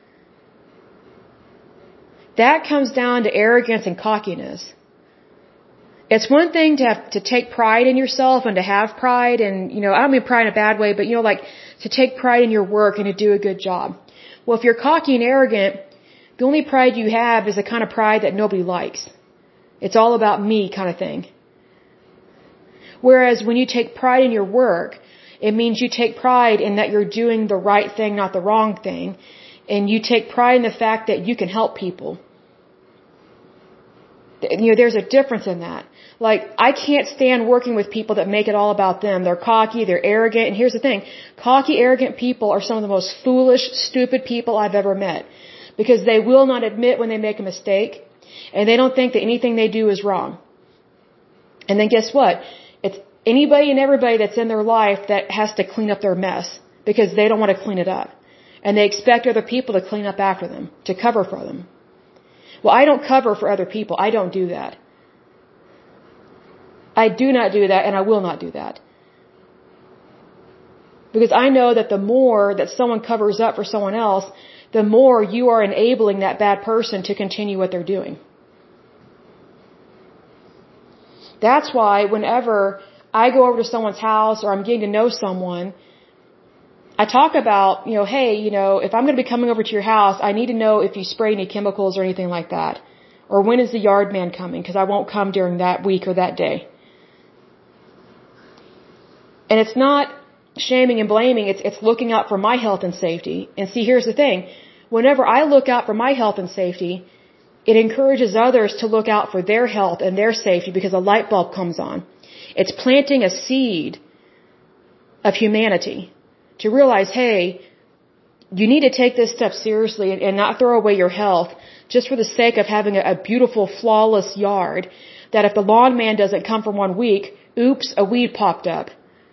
That comes down to arrogance and cockiness. It's one thing to have to take pride in yourself and to have pride, and, you know, I don't mean pride in a bad way, but, you know, like to take pride in your work and to do a good job. Well, if you're cocky and arrogant, the only pride you have is the kind of pride that nobody likes. It's all about me kind of thing. Whereas when you take pride in your work, it means you take pride in that you're doing the right thing, not the wrong thing. And you take pride in the fact that you can help people. You know, there's a difference in that. Like, I can't stand working with people that make it all about them. They're cocky, they're arrogant, and here's the thing. Cocky, arrogant people are some of the most foolish, stupid people I've ever met. Because they will not admit when they make a mistake, and they don't think that anything they do is wrong. And then guess what? It's anybody and everybody that's in their life that has to clean up their mess, because they don't want to clean it up. And they expect other people to clean up after them, to cover for them. Well, I don't cover for other people. I don't do that. I do not do that, and I will not do that. Because I know that the more that someone covers up for someone else, the more you are enabling that bad person to continue what they're doing. That's why whenever I go over to someone's house or I'm getting to know someone, I talk about, you know, hey, you know, if I'm going to be coming over to your house, I need to know if you spray any chemicals or anything like that. Or when is the yard man coming? Because I won't come during that week or that day. And it's not shaming and blaming, it's it's looking out for my health and safety. And see, here's the thing. Whenever I look out for my health and safety, it encourages others to look out for their health and their safety because a light bulb comes on. It's planting a seed of humanity to realize, hey, you need to take this step seriously and, and not throw away your health just for the sake of having a, a beautiful, flawless yard that if the lawn man doesn't come for one week, oops, a weed popped up.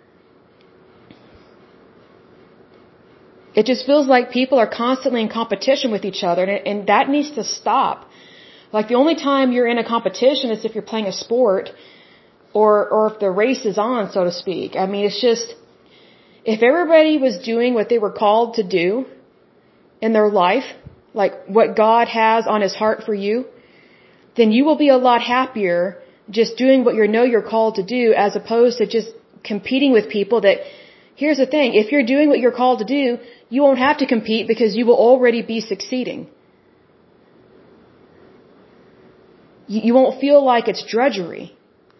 It just feels like people are constantly in competition with each other, and, and that needs to stop. Like the only time you're in a competition is if you're playing a sport or, or if the race is on, so to speak. I mean, it's just, if everybody was doing what they were called to do in their life, like what God has on His heart for you, then you will be a lot happier just doing what you know you're called to do as opposed to just competing with people that, here's the thing, if you're doing what you're called to do, you won't have to compete because you will already be succeeding. You, you won't feel like it's drudgery.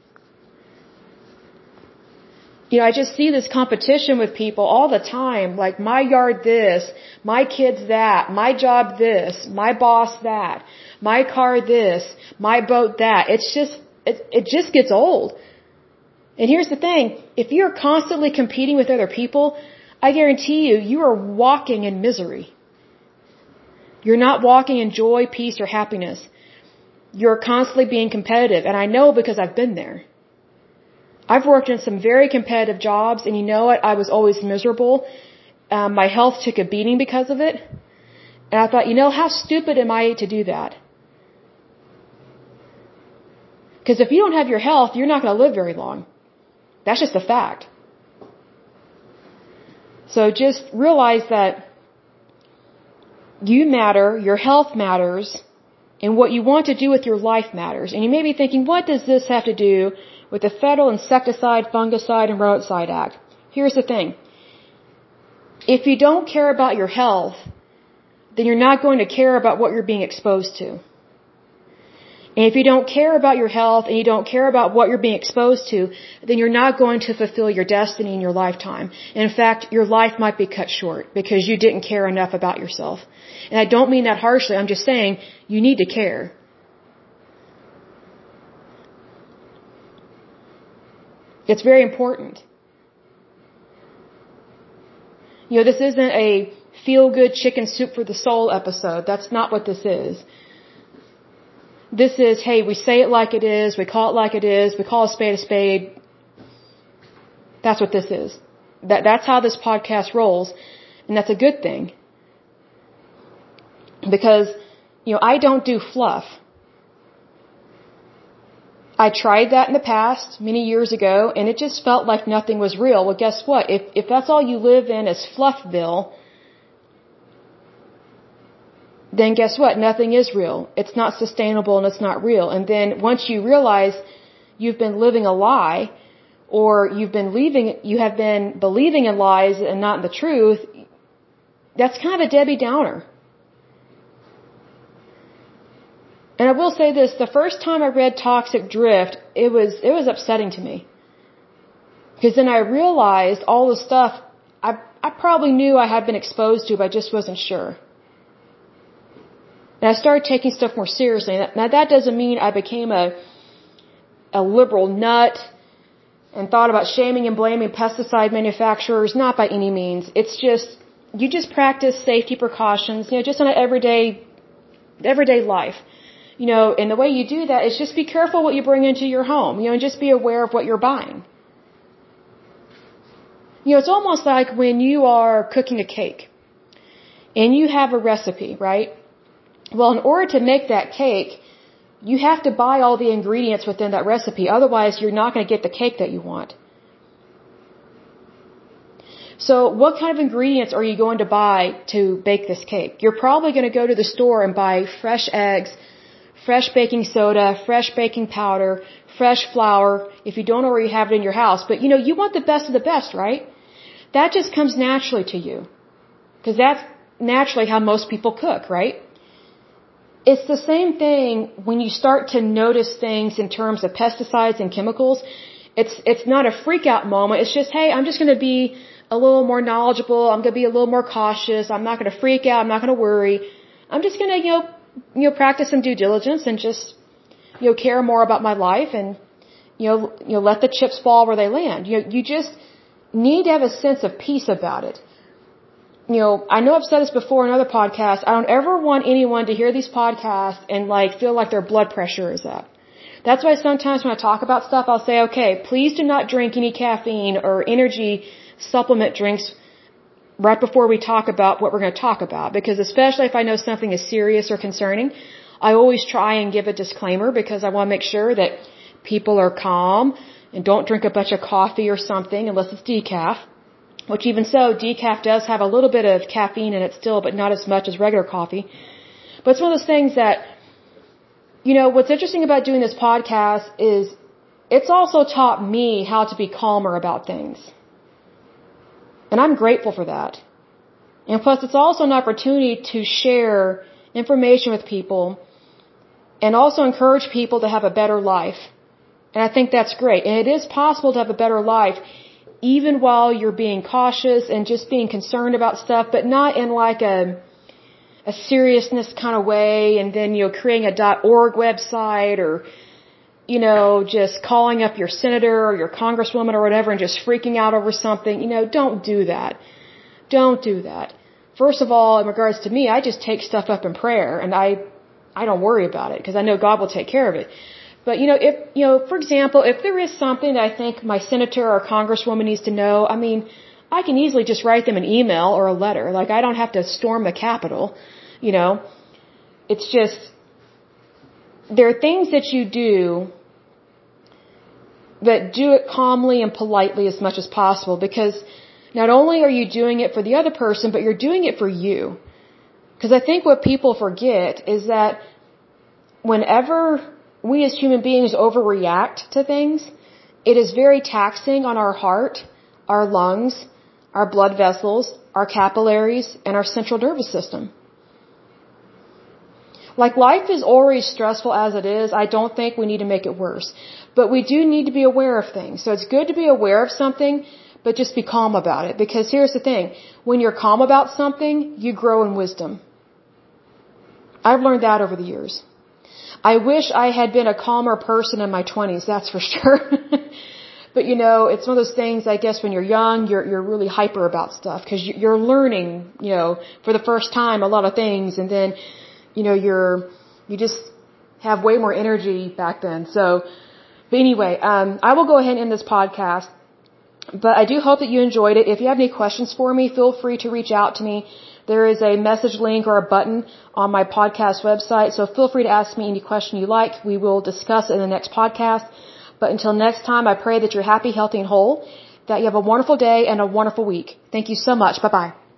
You know, I just see this competition with people all the time, like my yard this, my kids that, my job this, my boss that, my car this, my boat that. It's just, it, it just gets old. And here's the thing, if you're constantly competing with other people, I guarantee you, you are walking in misery. You're not walking in joy, peace, or happiness. You're constantly being competitive, and I know because I've been there. I've worked in some very competitive jobs, and you know what? I was always miserable. Um, my health took a beating because of it. And I thought, you know, how stupid am I to do that? Because if you don't have your health, you're not going to live very long. That's just a fact. So just realize that you matter, your health matters, and what you want to do with your life matters. And you may be thinking, what does this have to do with the Federal Insecticide, Fungicide, and Roadside Act? Here's the thing. If you don't care about your health, then you're not going to care about what you're being exposed to. And if you don't care about your health and you don't care about what you're being exposed to, then you're not going to fulfill your destiny in your lifetime. And in fact, your life might be cut short because you didn't care enough about yourself. And I don't mean that harshly. I'm just saying you need to care. It's very important. You know, this isn't a feel-good chicken soup for the soul episode. That's not what this is. This is, hey, we say it like it is, we call it like it is, we call a spade a spade. That's what this is. That, that's how this podcast rolls, and that's a good thing. Because, you know, I don't do fluff. I tried that in the past, many years ago, and it just felt like nothing was real. Well, guess what? If, if that's all you live in is Fluffville, then guess what? Nothing is real. It's not sustainable and it's not real. And then once you realize you've been living a lie, or you've been leaving, you have been believing in lies and not in the truth, that's kind of a Debbie Downer. And I will say this, the first time I read Toxic Drift, it was, it was upsetting to me. Because then I realized all the stuff I, I probably knew I had been exposed to, but I just wasn't sure. And I started taking stuff more seriously. Now that doesn't mean I became a a liberal nut and thought about shaming and blaming pesticide manufacturers. Not by any means. It's just, you just practice safety precautions, you know, just on an everyday, everyday life. You know, and the way you do that is just be careful what you bring into your home, you know, and just be aware of what you're buying. You know, it's almost like when you are cooking a cake and you have a recipe, right? Well, in order to make that cake, you have to buy all the ingredients within that recipe. Otherwise, you're not going to get the cake that you want. So what kind of ingredients are you going to buy to bake this cake? You're probably going to go to the store and buy fresh eggs, fresh baking soda, fresh baking powder, fresh flour, if you don't already have it in your house. But, you know, you want the best of the best, right? That just comes naturally to you. Because that's naturally how most people cook, right? It's the same thing when you start to notice things in terms of pesticides and chemicals. It's it's not a freak out moment. It's just, hey, I'm just going to be a little more knowledgeable. I'm going to be a little more cautious. I'm not going to freak out. I'm not going to worry. I'm just going to, you know, you know, practice some due diligence and just, you know, care more about my life and, you know, you know, let the chips fall where they land. You know, you just need to have a sense of peace about it. You know, I know I've said this before in other podcasts. I don't ever want anyone to hear these podcasts and like feel like their blood pressure is up. That's why sometimes when I talk about stuff, I'll say, okay, please do not drink any caffeine or energy supplement drinks right before we talk about what we're going to talk about. Because especially if I know something is serious or concerning, I always try and give a disclaimer because I want to make sure that people are calm and don't drink a bunch of coffee or something unless it's decaf. Which even so, decaf does have a little bit of caffeine in it still, but not as much as regular coffee. But it's one of those things that, you know, what's interesting about doing this podcast is it's also taught me how to be calmer about things. And I'm grateful for that. And plus, it's also an opportunity to share information with people and also encourage people to have a better life. And I think that's great. And it is possible to have a better life even while you're being cautious and just being concerned about stuff, but not in like a a seriousness kind of way and then, you know, creating a .org website or, you know, just calling up your senator or your congresswoman or whatever and just freaking out over something. You know, don't do that. Don't do that. First of all, in regards to me, I just take stuff up in prayer and I I don't worry about it because I know God will take care of it. But, you know, if, you know, for example, if there is something that I think my senator or congresswoman needs to know, I mean, I can easily just write them an email or a letter. Like, I don't have to storm the Capitol, you know. It's just, there are things that you do that do it calmly and politely as much as possible because not only are you doing it for the other person, but you're doing it for you. Because I think what people forget is that whenever we as human beings overreact to things, it is very taxing on our heart, our lungs, our blood vessels, our capillaries, and our central nervous system. Like life is already stressful as it is. I don't think we need to make it worse. But we do need to be aware of things. So it's good to be aware of something, but just be calm about it. Because here's the thing. When you're calm about something, you grow in wisdom. I've learned that over the years. I wish I had been a calmer person in my twenties, that's for sure. But, you know, it's one of those things, I guess, when you're young, you're you're really hyper about stuff because you're learning, you know, for the first time a lot of things. And then, you know, you're, you just have way more energy back then. So, but anyway, um, I will go ahead and end this podcast. But I do hope that you enjoyed it. If you have any questions for me, feel free to reach out to me. There is a message link or a button on my podcast website, so feel free to ask me any question you like. We will discuss it in the next podcast. But until next time, I pray that you're happy, healthy, and whole, that you have a wonderful day and a wonderful week. Thank you so much. Bye-bye.